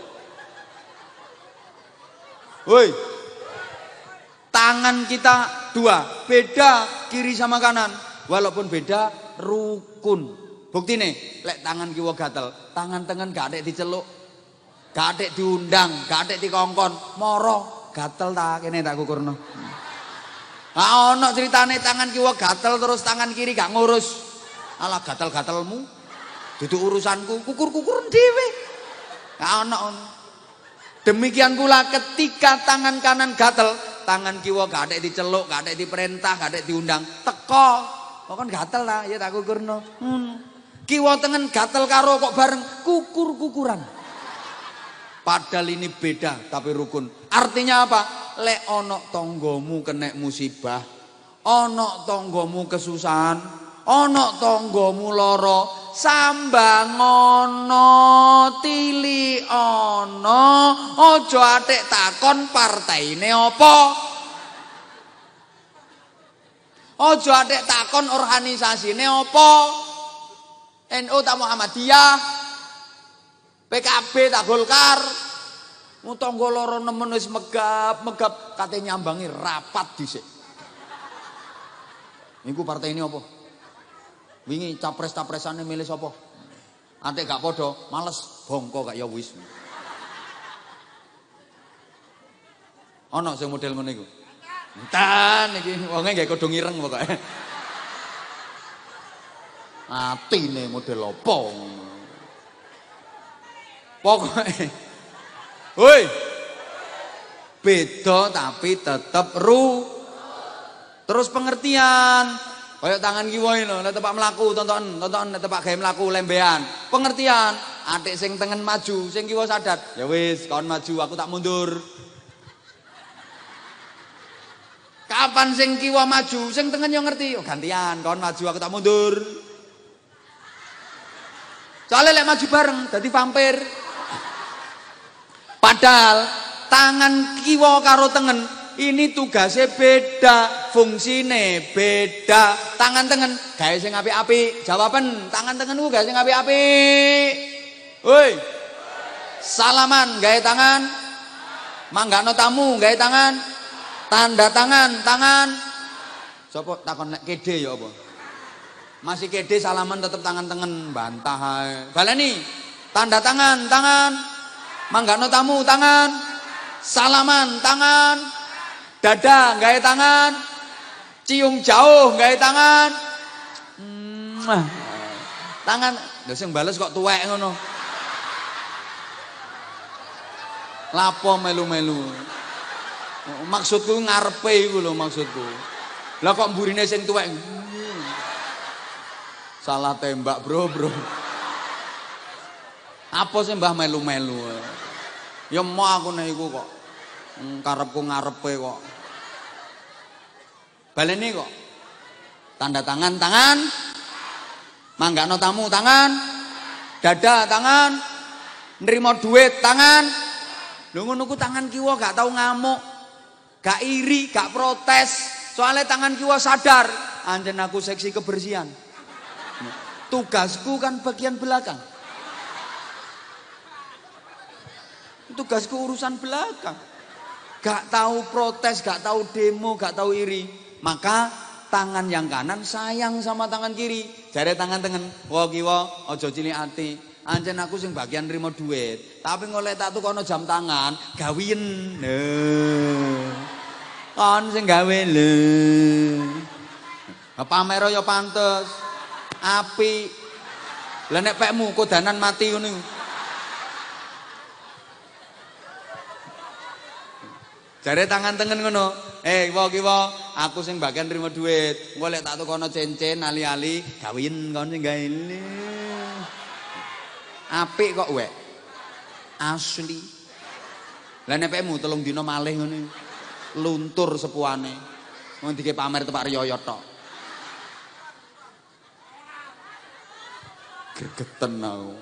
Woi. Tangan kita dua, beda kiri sama kanan. Walaupun beda rukun. Bukti nih, lek tangan kiwa gatel, tangan tengen gak ada diceluk, gak ada diundang, gak ada dikongkon, moro gatel tak kene tak kukurno. Nah ono ceritane tangan kiwa gatel terus tangan kiri gak ngurus. Alah gatel-gatelmu, dudu urusanku, kukur-kukur dhewe. Nah ono. Demikian pula ketika tangan kanan gatel, tangan kiwa gak ada diceluk, gak ada diperintah, gak ada diundang, teko. Kok kan gatel lah, ya tak kukurno. Kiwa tengen gatel karo kok bareng kukur-kukuran. Padahal ini beda tapi rukun. Artinya apa? Lek ono tonggomu kena musibah, ono tonggomu kesusahan, ono tonggomu loro, sambang ono, tili ono, ojo atik takon partaine apa. Ojo atik takon organisasine apa. NU tak Muhammadiyah, PKB tak Golkar. Mutangga loro nemen wis megap kate nyambangi rapat dhisik. Niku partai ini apa? Wingi capres-capresane milih sapa? Antek gak padha, males bongko gak ya wis. Ana sing model ngono iku. Entan iki wonge gak kodho ireng pokoke. Atine model apa ngono. Pokoke woi. Beda tapi tetep terus pengertian. Kayak tangan kiwa ini lho, nek tepak mlaku tonton nek tepak gawe mlaku lembean. Pengertian, atik sing tengen maju, sing kiwa sadar. Ya wis, kawan maju, aku tak mundur. Kapan sing kiwa maju, sing tengen yo ngerti, oh gantian, kawan maju, aku tak mundur. Soalnya lek maju bareng dadi vampir. Padahal tangan kiwa karo tengen ini tugasnya beda, fungsine beda. Tangan tengen gawe sing apik-apik. Jawaban tangan tengenku gawe sing apik-apik. Woi. Salaman gawe tangan. Manggano tamu gawe tangan. Tanda tangan. Sopo takon nek kede ya apa? Masih kede salaman tetep tangan tengen, bantah ae. Baleni. Tanda tangan. Manggano tamu tangan. Salaman tangan. Dada gawe tangan, cium jauh gawe tangan, tangan, lha sing bales kok tuwek ngono. Lapo melu-melu. Maksudku ngarepe iku lho maksudku. Lah kok mburine sing tuwek. Salah tembak, bro. Apa sih mbah melu-melu? Ya mau aku nek iku kok. Karepku ngarepe kok. Baleni kok. Tanda tangan. Manggano tamu tangan. Dada tangan. Nerima duit tangan. Lho ngono ku tangan kiwa gak tau ngamuk. Gak iri, gak protes. Soalnya tangan kiwa sadar, anjen aku seksi kebersihan. Tugasku kan bagian belakang. Tugasku urusan belakang. Gak tahu protes, gak tahu demo, gak tahu iri. Maka tangan yang kanan sayang sama tangan kiri. Jare tangan tengen, wah kiwa aja cilik ati. Ancen aku sing bagian nrimo duit, tapi ngoleh tak tukono jam tangan, gawien. Kon sing gawe lho. Pamer ya pantes. Apik. Lah nek pekmu kodanan mati ngono. Jare tangan tengen ngono. Kiwa, aku sing bagian nrimo duit. Engko lek tak tukono cincin ali-ali, gawin kon sing gawe. Apik kok wek. Asli. Lah nek pekmu 3 dina malih ngono. Luntur sepuane. Wong dike pamer tepak riyo tok. Gregeten aku.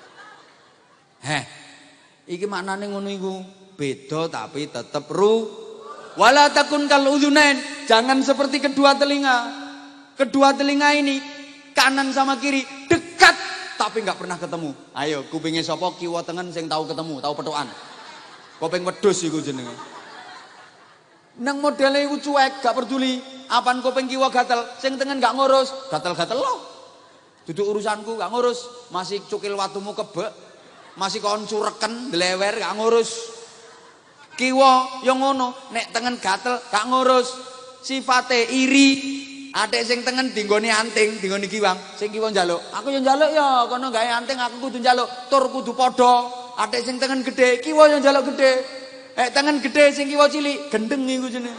Iki maknane ngono iku. Beda tapi tetap wala takun kal udhunain. Jangan seperti kedua telinga. Kedua telinga ini kanan sama kiri dekat tapi nggak pernah ketemu. Ayo, kupingnya sapa kiwa tengen sing tahu ketemu, tahu petukan. Kopeng wedhus iku jenenge. Nang modele iku cuek, gak peduli. Apan kopeng kiwa gatel, sing tengen gak ngurus, gatel-gatel loh. Duduk urusanku gak ngurus, masih cukil watumu kebek, masih kon cureken, delewer gak ngurus. Kiwa yang ngono, nek tengen gatel gak ngurus. Sifate iri. Adek sing tengen dinggoni anting, dinggoni kiwang, sing kiwa njaluk. Aku yo njaluk ya, kono gawe anting aku kudu njaluk, tur kudu padha. Adek sing tengen gede, kiwa yo njaluk gede. Tengen gede sing kiwa cilik, gendeng iku jenenge.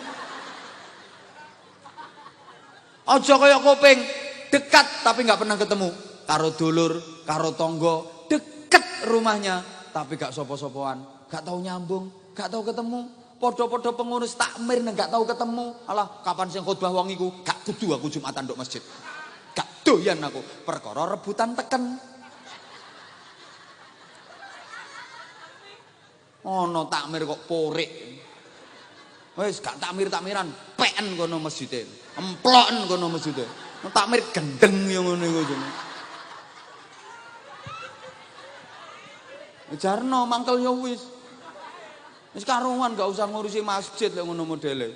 Aja kaya kopeng, dekat tapi nggak pernah ketemu. Karo dulur, karo tonggo, deket rumahnya, tapi gak sopo-sopoan, gak tahu nyambung, gak tahu ketemu. Podo-podo pengurus takmir gak tahu ketemu. Alah, kapan sing khotbah wong iku? Gak kudu aku Jumatan nduk masjid. Gak doyan aku, perkara rebutan teken. Ono takmir kok porik. Wis gak takmir-takmiran, peken kono masjide. Emploken kono masjide. Takmir gendeng yo ngono iku jenenge. Jarno mangkel yo wis. Wis karuan gak usah ngurusi masjid lek ngono modele.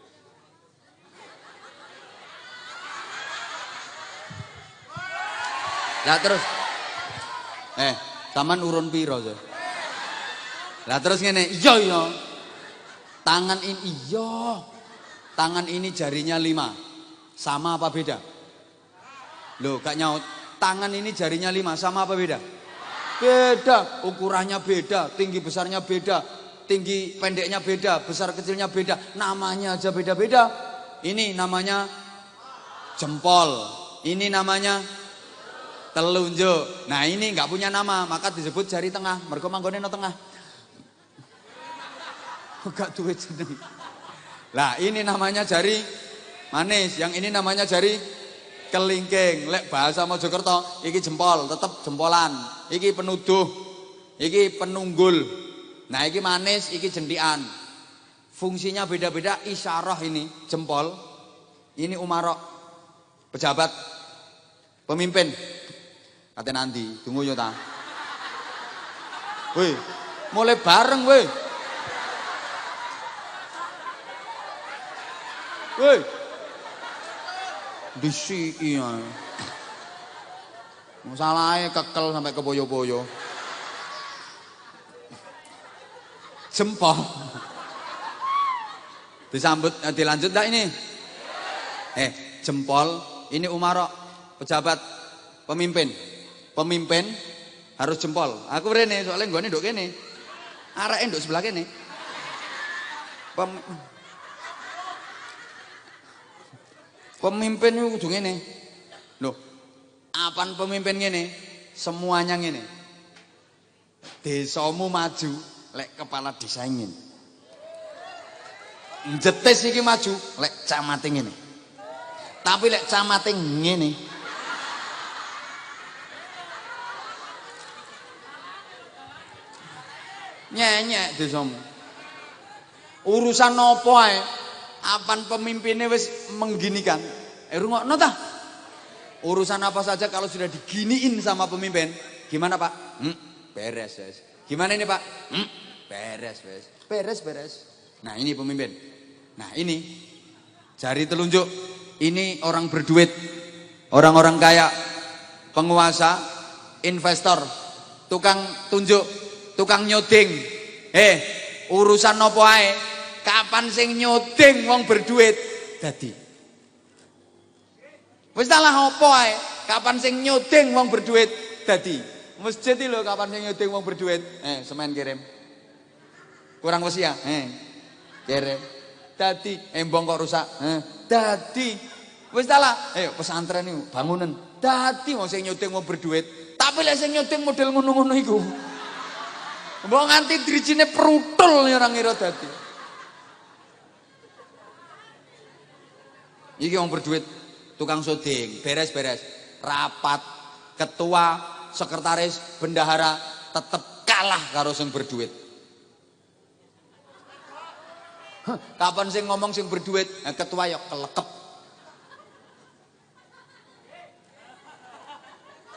Lah terus taman urun piro sih? Lah terus ngene, iya. Tangan ini iya. Tangan ini jarinya 5. Sama apa beda? Loh, gak nyaut. Tangan ini jarinya 5, sama apa beda? Beda, ukurannya beda, tinggi besarnya beda, tinggi pendeknya beda, besar kecilnya beda, namanya aja beda-beda. Ini namanya jempol, ini namanya telunjuk. Nah ini nggak punya nama, maka disebut jari tengah. Mergo manggone no tengah. Gak duwe jeneng. Lah ini namanya jari manis, yang ini namanya jari kelingking. Lek bahasa Mojokerto, iki jempol, tetep jempolan. Iki penuduh, iki penunggul. Nah iki manis, iki jendian. Fungsinya beda-beda. Isyarah ini jempol, ini umarok, pejabat, pemimpin. Kate nanti, tunggu yo ta. Woi, mulai bareng woi. Woi. Disiki ae. Masalahe kekel sampai ke boyo-boyo. Jempol. Disambut dilanjut enggak ini? Jempol ini umarok, pejabat, pemimpin. Pemimpin harus jempol. Aku rene soalnya nggone nduk kene. Areke nduk sebelah kene. Pemimpin itu kudu ngene. Loh, apan pemimpin ngene? Semuanya ngene. Desamu maju, lek kepala desa ngene. Jetis iki maju, lek camate ngene. Tapi lek camate ngene. Nyek desamu. Urusan apa ae? Apan pemimpinnya wis mengginikan. Rungokno ta? Urusan apa saja kalau sudah diginiin sama pemimpin, gimana Pak? Beres, wes. Gimana ini Pak? Beres, wes. Beres. Nah, ini pemimpin. Nah, ini jari telunjuk. Ini orang berduit. Orang-orang kaya, penguasa, investor, tukang tunjuk, tukang nyoding. Urusan apa ae? Kapan sing nyoding wong berduit dadi. Wis salah apa ae? Kapan sing nyoding wong berduit dadi. Masjid iki lho kapan sing nyoding wong berduit. Semen kirim. Kurang wesi ya? Kirim. Dadi embong kok rusak. Dadi. Wis salah. Pesantren niku bangunan. Dadi wong sing nyoding wong berduit. Tapi lek sing nyoding model ngono-ngono iku. Mbok nganti drijine prutul ora ngira dadi. Iki wong berduit, tukang syuting, beres-beres. Rapat, ketua, sekretaris, bendahara tetep kalah karo sing berduit. Kapan sing ngomong sing berduit, ketua ya kelekep.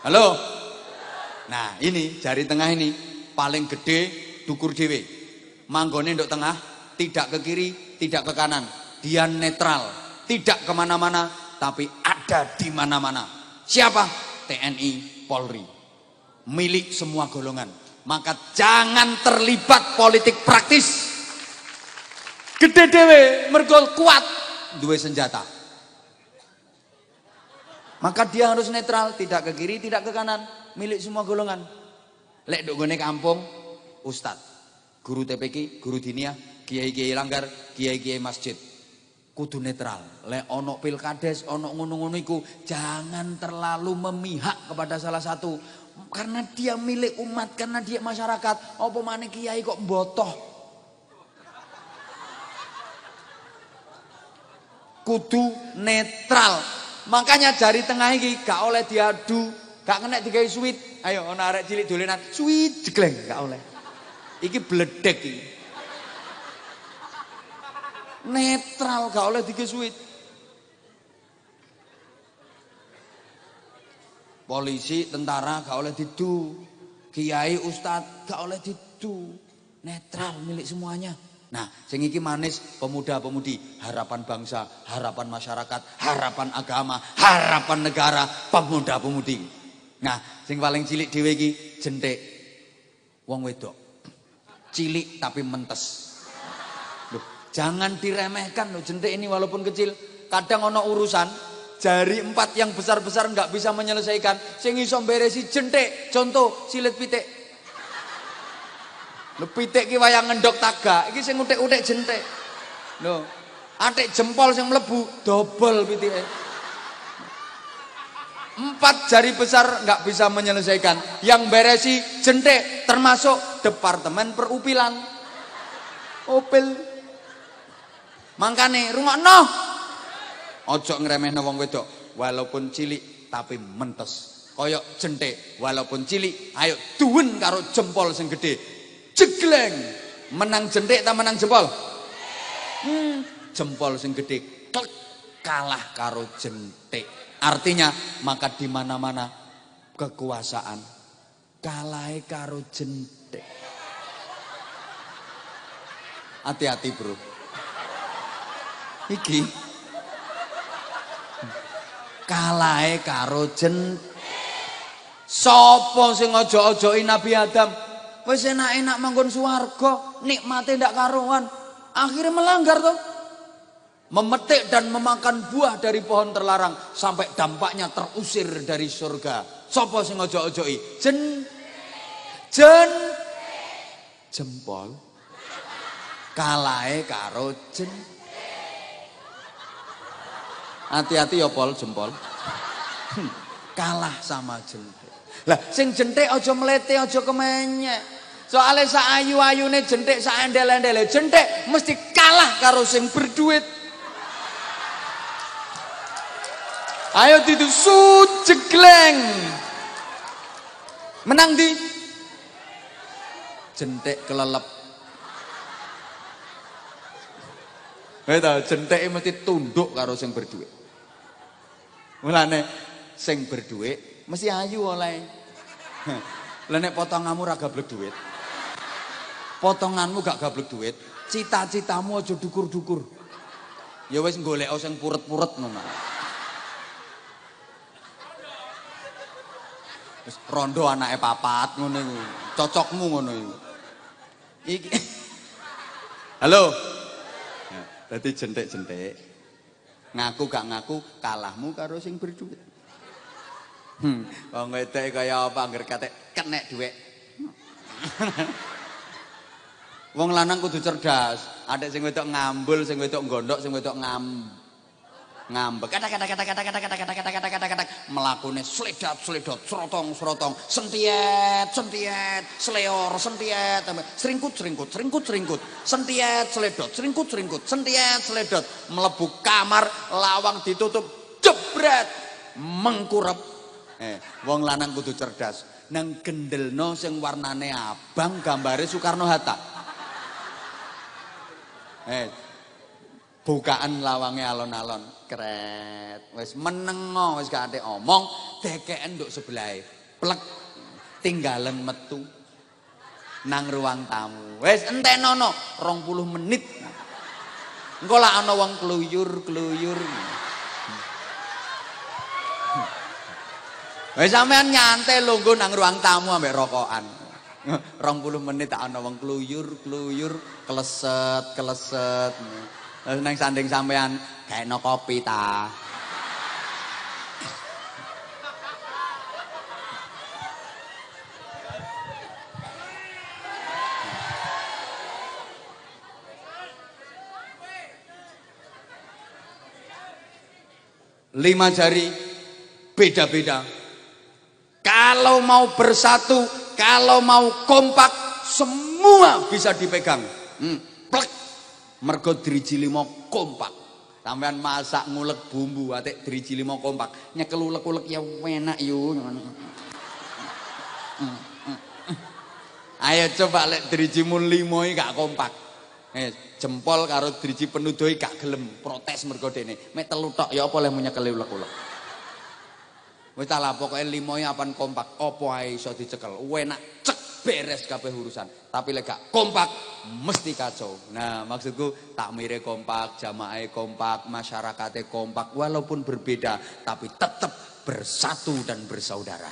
Halo. Nah, ini jari tengah ini paling gede dukur dhewe. Manggone nduk tengah, tidak ke kiri, tidak ke kanan. Dia netral, tidak kemana-mana, tapi ada di mana-mana. Siapa? TNI, Polri. Milik semua golongan. Maka jangan terlibat politik praktis. Gede dhewe, mergo kuat, duwe senjata. Maka dia harus netral, tidak ke kiri, tidak ke kanan, milik semua golongan. Lek nduk gone kampung, ustad, guru TPQ, guru diniyah, kiai-kiai langgar, kiai-kiai masjid. Kudu netral. Lek ono pilkades, ono ngono-ngono iku, jangan terlalu memihak kepada salah satu. Karena dia milik umat, karena dia masyarakat. Apa maneh kiai kok mbotoh? Kudu netral. Makanya jari tengah iki gak oleh diadu, gak kena digawe sweet. Ayo ana arek cilik dolenan, sweet jegleng gak oleh. Iki bledek iki. Netral gak oleh digawe sweet. Polisi, tentara gak oleh didu. Kiai, ustad gak oleh didu. Netral milik semuanya. Nah, sing iki manis pemuda-pemudi, harapan bangsa, harapan masyarakat, harapan agama, harapan negara, pemuda-pemudi. Nah, sing paling cilik dhewe iki jentik wong wedok. Cilik tapi mentes. Loh, jangan diremehkan loh jentik ini walaupun kecil. Kadang ono urusan jari 4 yang besar-besar nggak bisa menyelesaikan. Sing iso beresi jentik. Contoh silet pitik. Lho pitik ki wayang ngendok tagak, iki sing utik-utik jentik. Lho, atik jempol sing mlebu dobol pitike. 4 jari besar nggak bisa menyelesaikan. Yang beresi jentik termasuk departemen perupilan. Opil. Mangkane rungokno. Ojo ngremehno wong wedok, walaupun cilik tapi mentes. Koyok jentik, walaupun cilik, ayo duwen karo jempol sing gede. Jegleng, menang jentik tak menang jempol? Jempol sing gede klek, kalah karo jentik. Artinya maka di mana-mana kekuasaan kalah karo jentik. Hati-hati bro. Iki kalah karo jentik. Sopo sing ojo-ojoki Nabi Adam? Wis enak-enak manggon swarga, nikmate ndak karuan. Akhirnya melanggar toh. Memetik dan memakan buah dari pohon terlarang sampai dampaknya terusir dari surga. Sopo sing ojo-ojoki? Jempol. Kalahe karo hati-hati ya pol jempol. Kalah sama jentik. Lah sing jentik aja mlete aja kemenyek. Soale sak ayu-ayune jentik sak endel-endele jentik mesti kalah karo sing berduit. Ayo ditu jegleng. Menang di jentik kelelep. Weta jentik mesti tunduk karo sing berduit. Mulane sing berduit mesti ayu oleh. Lah nek potonganmu ra gablek duit. Potonganmu gak gablek duit, cita-citamu aja dukur-dukur. Ya wis golek sing puret-puret ngono. Wis rondo anake papat ngono iku. Cocokmu ngono iku. Iki halo. Dadi jentik-jentik. Ngaku gak ngaku kalahmu karo sing berduit. Wong wedok kaya apa angger kenek dhuwit. Wong lanang kudu cerdas. Adek sing wedok ngambul, sing wedok gondok, sing wedok ngambek. Kata melakune sledot, serotong, sentiet, sleor, sentiet, seringkut, sentiet, sledot, mlebu kamar, lawang ditutup, jebret, mengkurep. Wong lanang kudu cerdas. Nang gendelno sing warnane abang gambare Soekarno Hatta. Bukaan lawange alon-alon, kret. Wis menengo, wis gak ate omong, dekeken nduk sebelahe. plek tinggalan metu nang ruang tamu. Wis entenono 20 menit. Engko lak ana wong kluyur-kluyur. Wis sampean nyantai lungguh nang ruang tamu ambek rokokan. 20 menit tak ana wong kluyur-kluyur, kleset-kleset. Terus nang sanding sampean gaekno kopi ta. 5 jari beda-beda. Kalau mau bersatu, kalau mau kompak, semua bisa dipegang. Plek. Mergo driji 5 kompak. Sampean masak ngulek bumbu, atik driji 5 kompak. Nyekel ulek-ulek ya enak yo. Ayo coba lek drijimu 5 iki gak kompak. Jempol karo driji penuduhi gak gelem protes mergo dene. Mek 3 tok ya apa oleh nyekel ulek-ulek. Wis ta lah pokoke 5 iki apan kompak, apa ae iso dicekel. Enak cek beres kabeh urusan. Tapi lek gak kompak mesti kacau. Nah, maksudku takmire kompak, jamaahe kompak, masyarakate kompak walaupun berbeda tapi tetap bersatu dan bersaudara.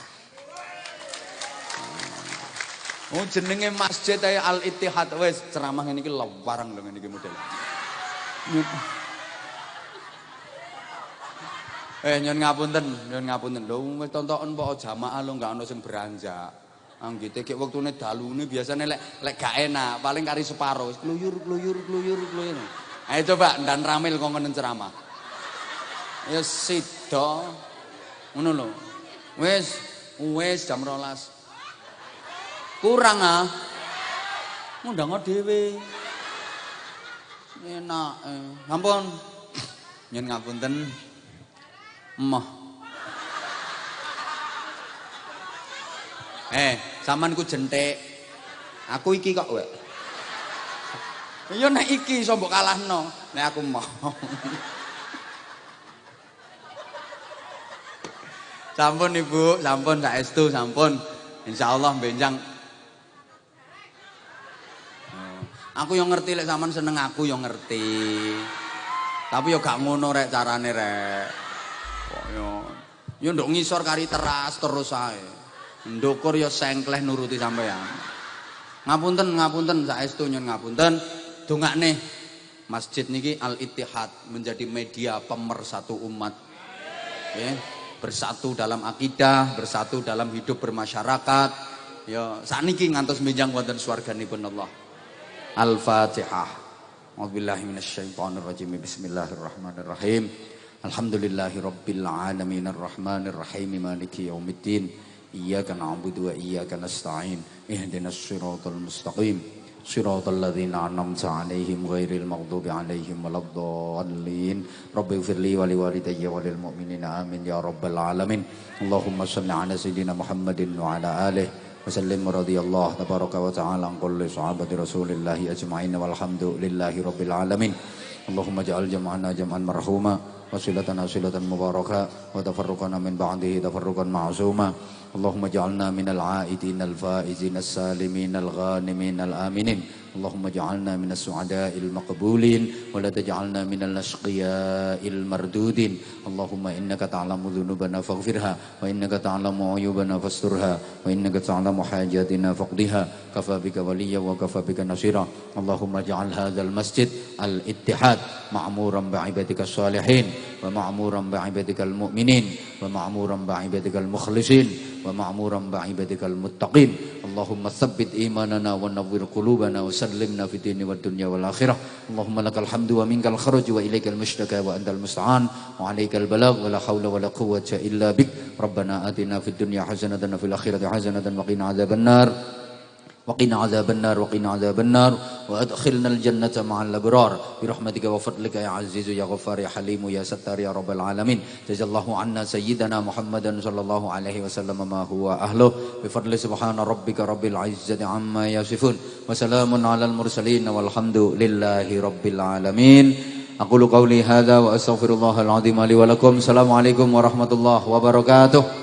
Oh jenenge masjid ae Al Ittihad wis ceramah ngene iki lewarang lho ngene iki model. Nyon ngapunten lho wis tontoken kok jamaah lho gak ono sing beranjak. Anggite gek wektune dalune biasane lek gak enak paling kari separo wis kluyur. Ayo coba ndan ramil kok ngene ceramah. Ya sida ngono lho. Wis jam 12. Kurang ah. Ngundang dhewe. Enak. Ampun. Nyen ngapunten. Emoh. Sampean ku jentik. Aku iki kok wek. Ya nek iki iso mbok kalahno, nek aku emoh. Sampun Ibu, sampun saestu, sampun. Insyaallah benjang. Aku yang ngerti lek sampean seneng aku yang ngerti. Tapi yo gak ngono rek carane rek. Kok yo nduk ngisor kari teras terus ae. Ndukur yo sengkleh nuruti sampean. Ngapunten saestu nyun ngapunten. Dongakne masjid niki Al Ittihad menjadi media pemersatu umat. Bersatu dalam akidah, bersatu dalam hidup bermasyarakat. Ya sakniki ngantos benjang wonten swarganipun Allah. Al-Fatihah. A'udzubillahi minasyaitonirrajim. Bismillahirrahmanirrahim. Alhamdulillahirabbil alamin arrahmanirrahim maliki yaumiddin. Iyyaka na'budu wa iyyaka nasta'in. Ihdinas siratal mustaqim. Siratal ladzina an'amta 'alaihim ghairil maghdubi 'alaihim waladdallin. Rabbighfirli wa liwalidayya wa lil mu'minina amin ya rabbal alamin. Allahumma shalli 'ala sayidina Muhammadin wa 'ala alihi وسلم رضي الله تبارك وتعالى عن كل صحابة رسول الله أجمعين والحمد لله رب العالمين. اللهم اجعل جمعنا جمعا مرحوما وصلتنا صلة مباركة وتفرقنا من بعده تفرقا معصوما. اللهم اجعلنا من العائدين الفائزين السالمين الغانمين الآمنين. اللهم اجعلنا من السعداء المقبولين ولا تجعلنا من الأشقياء المردودين. اللهم إنك تعلم ذنوبنا فاغفرها وإنك تعلم عيوبنا فاسترها وإنك تعلم حاجاتنا فاقضها. كفى بك وليا وكفى بك نصيرا. اللهم اجعل هذا المسجد الاتحاد معمورا بعبادك الصالحين ومعمورا بعبادك المؤمنين ومعمورا بعبادك المخلصين ومعمورا بعبادك المتقين. اللهم ثبت إيماننا ونور قلوبنا وسلمنا في الدين والدنيا والآخرة. اللهم لك الحمد ومنك الخرج وإليك المشتكى وأنت المستعان وعليك البلاغ ولا حول ولا قوة إلا بك. ربنا آتنا في الدنيا حسنة وفي الآخرة حسنة وقنا عذاب النار وقنا عذاب النار وقنا عذاب النار وأدخلنا الجنة مع الأبرار برحمتك وفضلك يا عزيز يا غفار يا حليم يا ستار يا رب العالمين. جزا الله عنا سيدنا محمدا صلى الله عليه وسلم ما هو أهله بفضل سبحان ربك رب العزة عما يصفون وسلام على المرسلين والحمد لله رب العالمين. أقول قولي هذا وأستغفر الله العظيم لي ولكم. السلام عليكم ورحمة الله وبركاته.